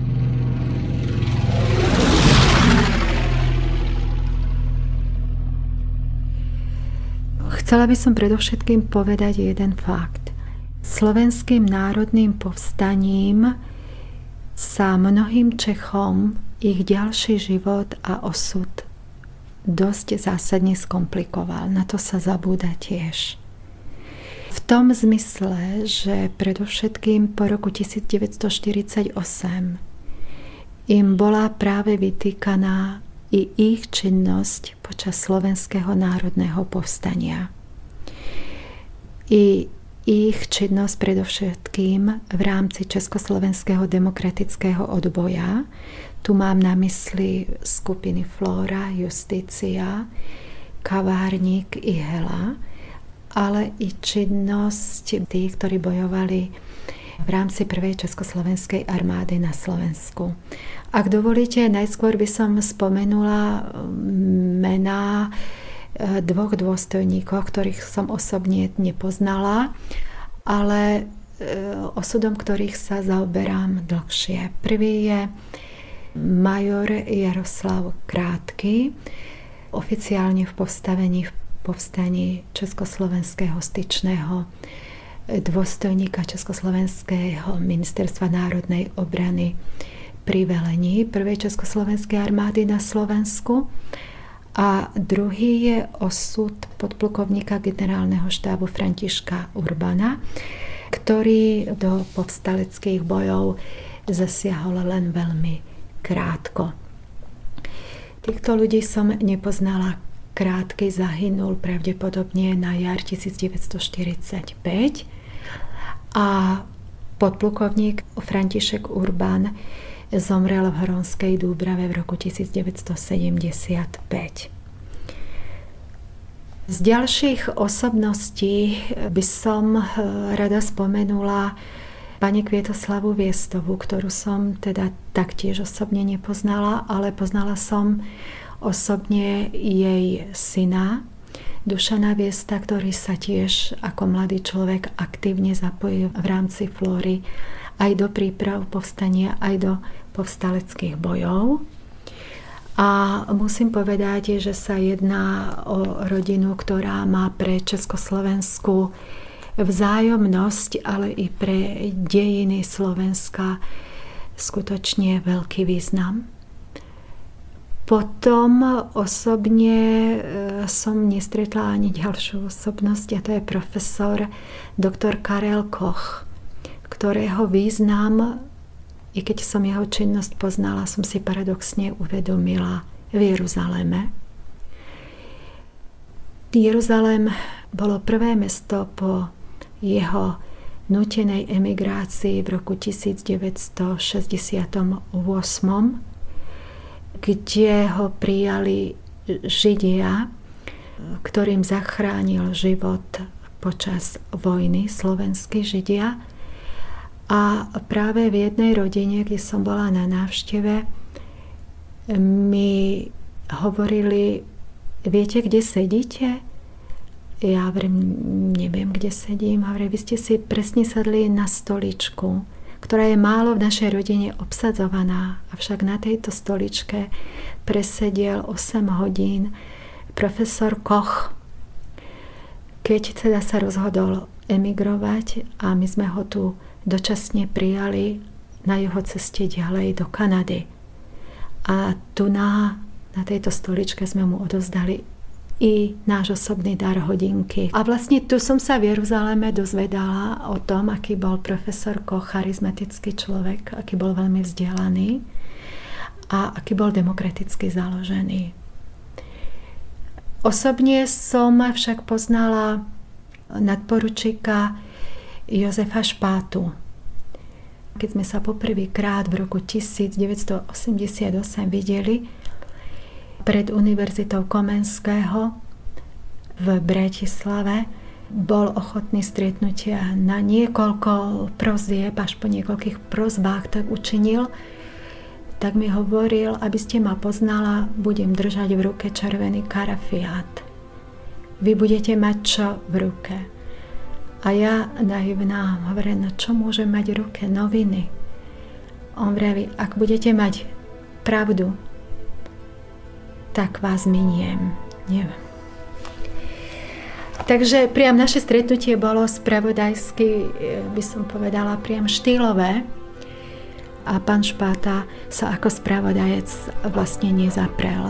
Chcela by som predovšetkým povedať jeden fakt. Slovenským národným povstaním sa mnohým Čechom ich ďalší život a osud dosť zásadne skomplikoval. Na to sa zabúda tiež. V tom zmysle, že predovšetkým po roku devätnásťstoštyridsaťosem im bola práve vytýkaná i ich činnosť počas Slovenského národného povstania. I ich činnosť predovšetkým v rámci Československého demokratického odboja. Tu mám na mysli skupiny Flóra, Justícia, Kavárnik i Hela, ale i činnosť tých, ktorí bojovali v rámci prvej československej armády na Slovensku. Ak dovolíte, najskôr by som spomenula mená dvoch dôstojníkov, ktorých som osobne nepoznala, ale osudom ktorých sa zaoberám dlhšie. Prvý je major Jaroslav Krátky, oficiálne v postavení v povstaní Československého styčného dôstojníka Československého ministerstva národnej obrany pri velení prvej československej armády na Slovensku. A druhý je osud podplukovníka generálneho štábu Františka Urbana, ktorý do povstaleckých bojov zasiahol len veľmi krátko. Týchto ľudí som nepoznala. Krátky zahynul pravdepodobne na jar devätnásťstoštyridsaťpäť a podplukovník František Urban zomrel v Hronskej Dúbrave v roku devätnásťstosedemdesiatpäť. Z ďalších osobností by som rada spomenula pani Kvietoslavu Viestovú, ktorú som teda taktiež osobne nepoznala, ale poznala som osobne jej syna, Dušana Viesta, ktorý sa tiež ako mladý človek aktívne zapojil v rámci Flóry aj do príprav povstania, aj do povstaleckých bojov. A musím povedať, že sa jedná o rodinu, ktorá má pre Československú vzájomnosť, ale i pre dejiny Slovenska skutočne veľký význam. Potom osobne som nestretla ani ďalšiu osobnosť, a to je profesor doktor Karel Koch, ktorého význam, i keď som jeho činnosť poznala, som si paradoxne uvedomila v Jeruzaleme. Jeruzalém bolo prvé mesto po jeho nútenej emigrácii v roku devätnásťstošesťdesiatosem, kde ho prijali Židia, ktorým zachránil život počas vojny slovenskí Židia. A práve v jednej rodine, kde som bola na návšteve, mi hovorili: viete, kde sedíte? Ja hovorím, neviem, kde sedím. Hovorím, vy ste si presne sadli na stoličku, ktorá je málo v našej rodine obsadzovaná. Avšak na tejto stoličke presediel osem hodín profesor Koch. Keď teda sa rozhodol emigrovať a my sme ho tu dočasne prijali na jeho ceste ďalej do Kanady. A tu na, na tejto stoličke sme mu odovzdali i náš osobný dar hodinky. A vlastne tu som sa v Jeruzaleme dozvedala o tom, aký bol profesor Koch charizmatický človek, aký bol veľmi vzdelaný a aký bol demokraticky založený. Osobne som však poznala nadporučíka Jozefa Špátu. keď sme sa poprvýkrát v roku devätnásťstoosemdesiatosem videli pred Univerzitou Komenského v Bratislave, bol ochotný stretnutia na niekoľko prozieb, až po niekoľkých prozbách tak učinil, tak mi hovoril, aby ste ma poznala, budem držať v ruke červený karafiát. Vy budete mať čo v ruke? A ja naivná hovorím, no čo môžem mať v ruke? Noviny. On vraví, ak budete mať pravdu, tak vás miniem. Neviem. Takže priam naše stretnutie bolo spravodajsky, by som povedala, priam štýlové. A pán Špáta sa ako spravodajec vlastne nezaprel.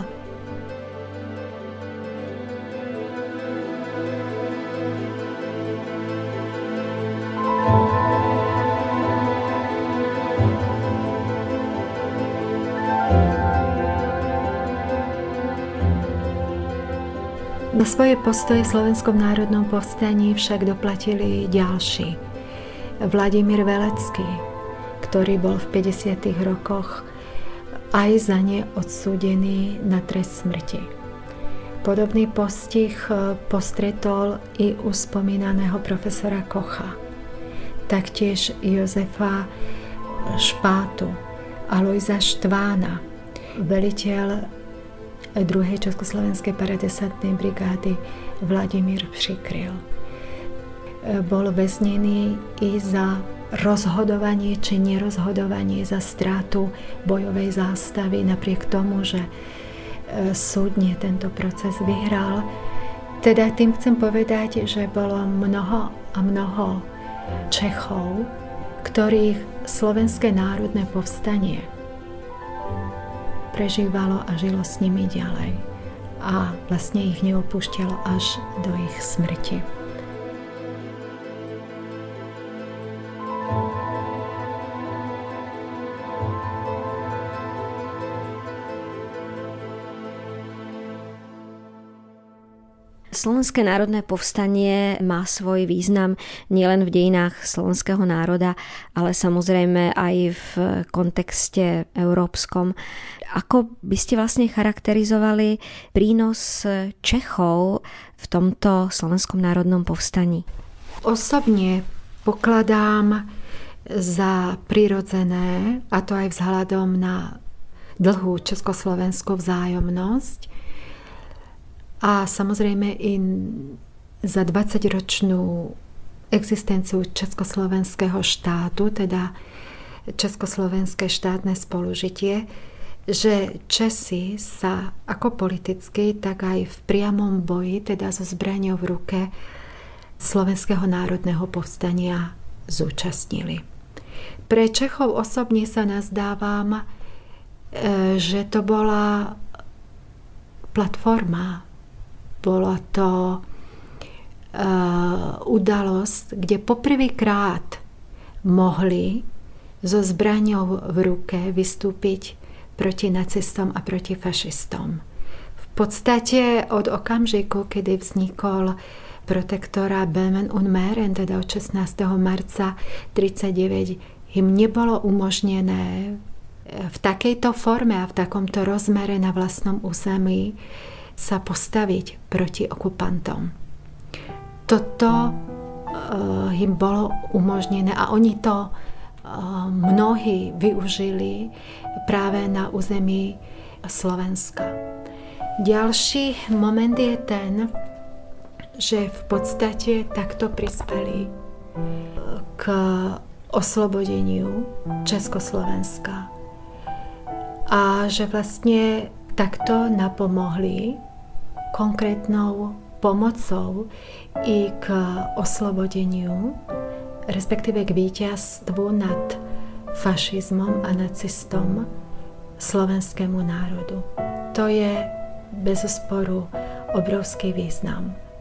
Na svoje postoje v Slovenskom národnom povstaní však doplatili ďalší. Vladimír Velecký, ktorý bol v päťdesiatych rokoch aj za ne odsúdený na trest smrti. Podobný postih postretol i u spomínaného profesora Kocha, taktiež Jozefa Špátu, Alojza Štvána, veliteľ druhej Československej paradesantnej brigády Vladimír Přikryl. Bol väznený i za rozhodovanie či nerozhodovanie, za strátu bojovej zástavy, napriek tomu, že súdne tento proces vyhral. Teda tým chcem povedať, že bolo mnoho a mnoho Čechov, ktorých Slovenské národné povstanie prežívalo a žilo s nimi ďalej. A vlastne ich neopúšťalo až do ich smrti. Slovenské národné povstanie má svoj význam nielen v dejinách slovenského národa, ale samozrejme aj v kontexte európskom. Ako by ste vlastne charakterizovali prínos Čechov v tomto Slovenskom národnom povstaní? Osobne pokladám za prirodzené, a to aj vzhľadom na dlhú československú vzájomnosť, a samozrejme i za dvadsaťročnú existenciu československého štátu, teda československé štátne spolužitie, že Česi sa ako politicky, tak aj v priamom boji, teda so zbraňou v ruke Slovenského národného povstania zúčastnili. Pre Čechov osobne sa nazdávam, že to bola platforma, bola to uh, udalosť, kde poprvýkrát mohli so zbraňou v ruke vystúpiť proti nacistom a proti fašistom. V podstate od okamžiku, kedy vznikol protektorát Böhmen und Mähren, teda od šestnásteho marca tridsaťdeväť, im nebolo umožnené v takejto forme a v takomto rozmere na vlastnom území sa postaviť proti okupantom. Toto uh, im bolo umožnené a oni to uh, mnohí využili práve na území Slovenska. Ďalší moment je ten, že v podstate takto prispeli k oslobodeniu Československa a že vlastne takto napomohli konkrétnou pomocou i k oslobodeniu, respektíve k víťazstvu nad fašizmom a nacistom slovenskému národu. To je bezosporu obrovský význam.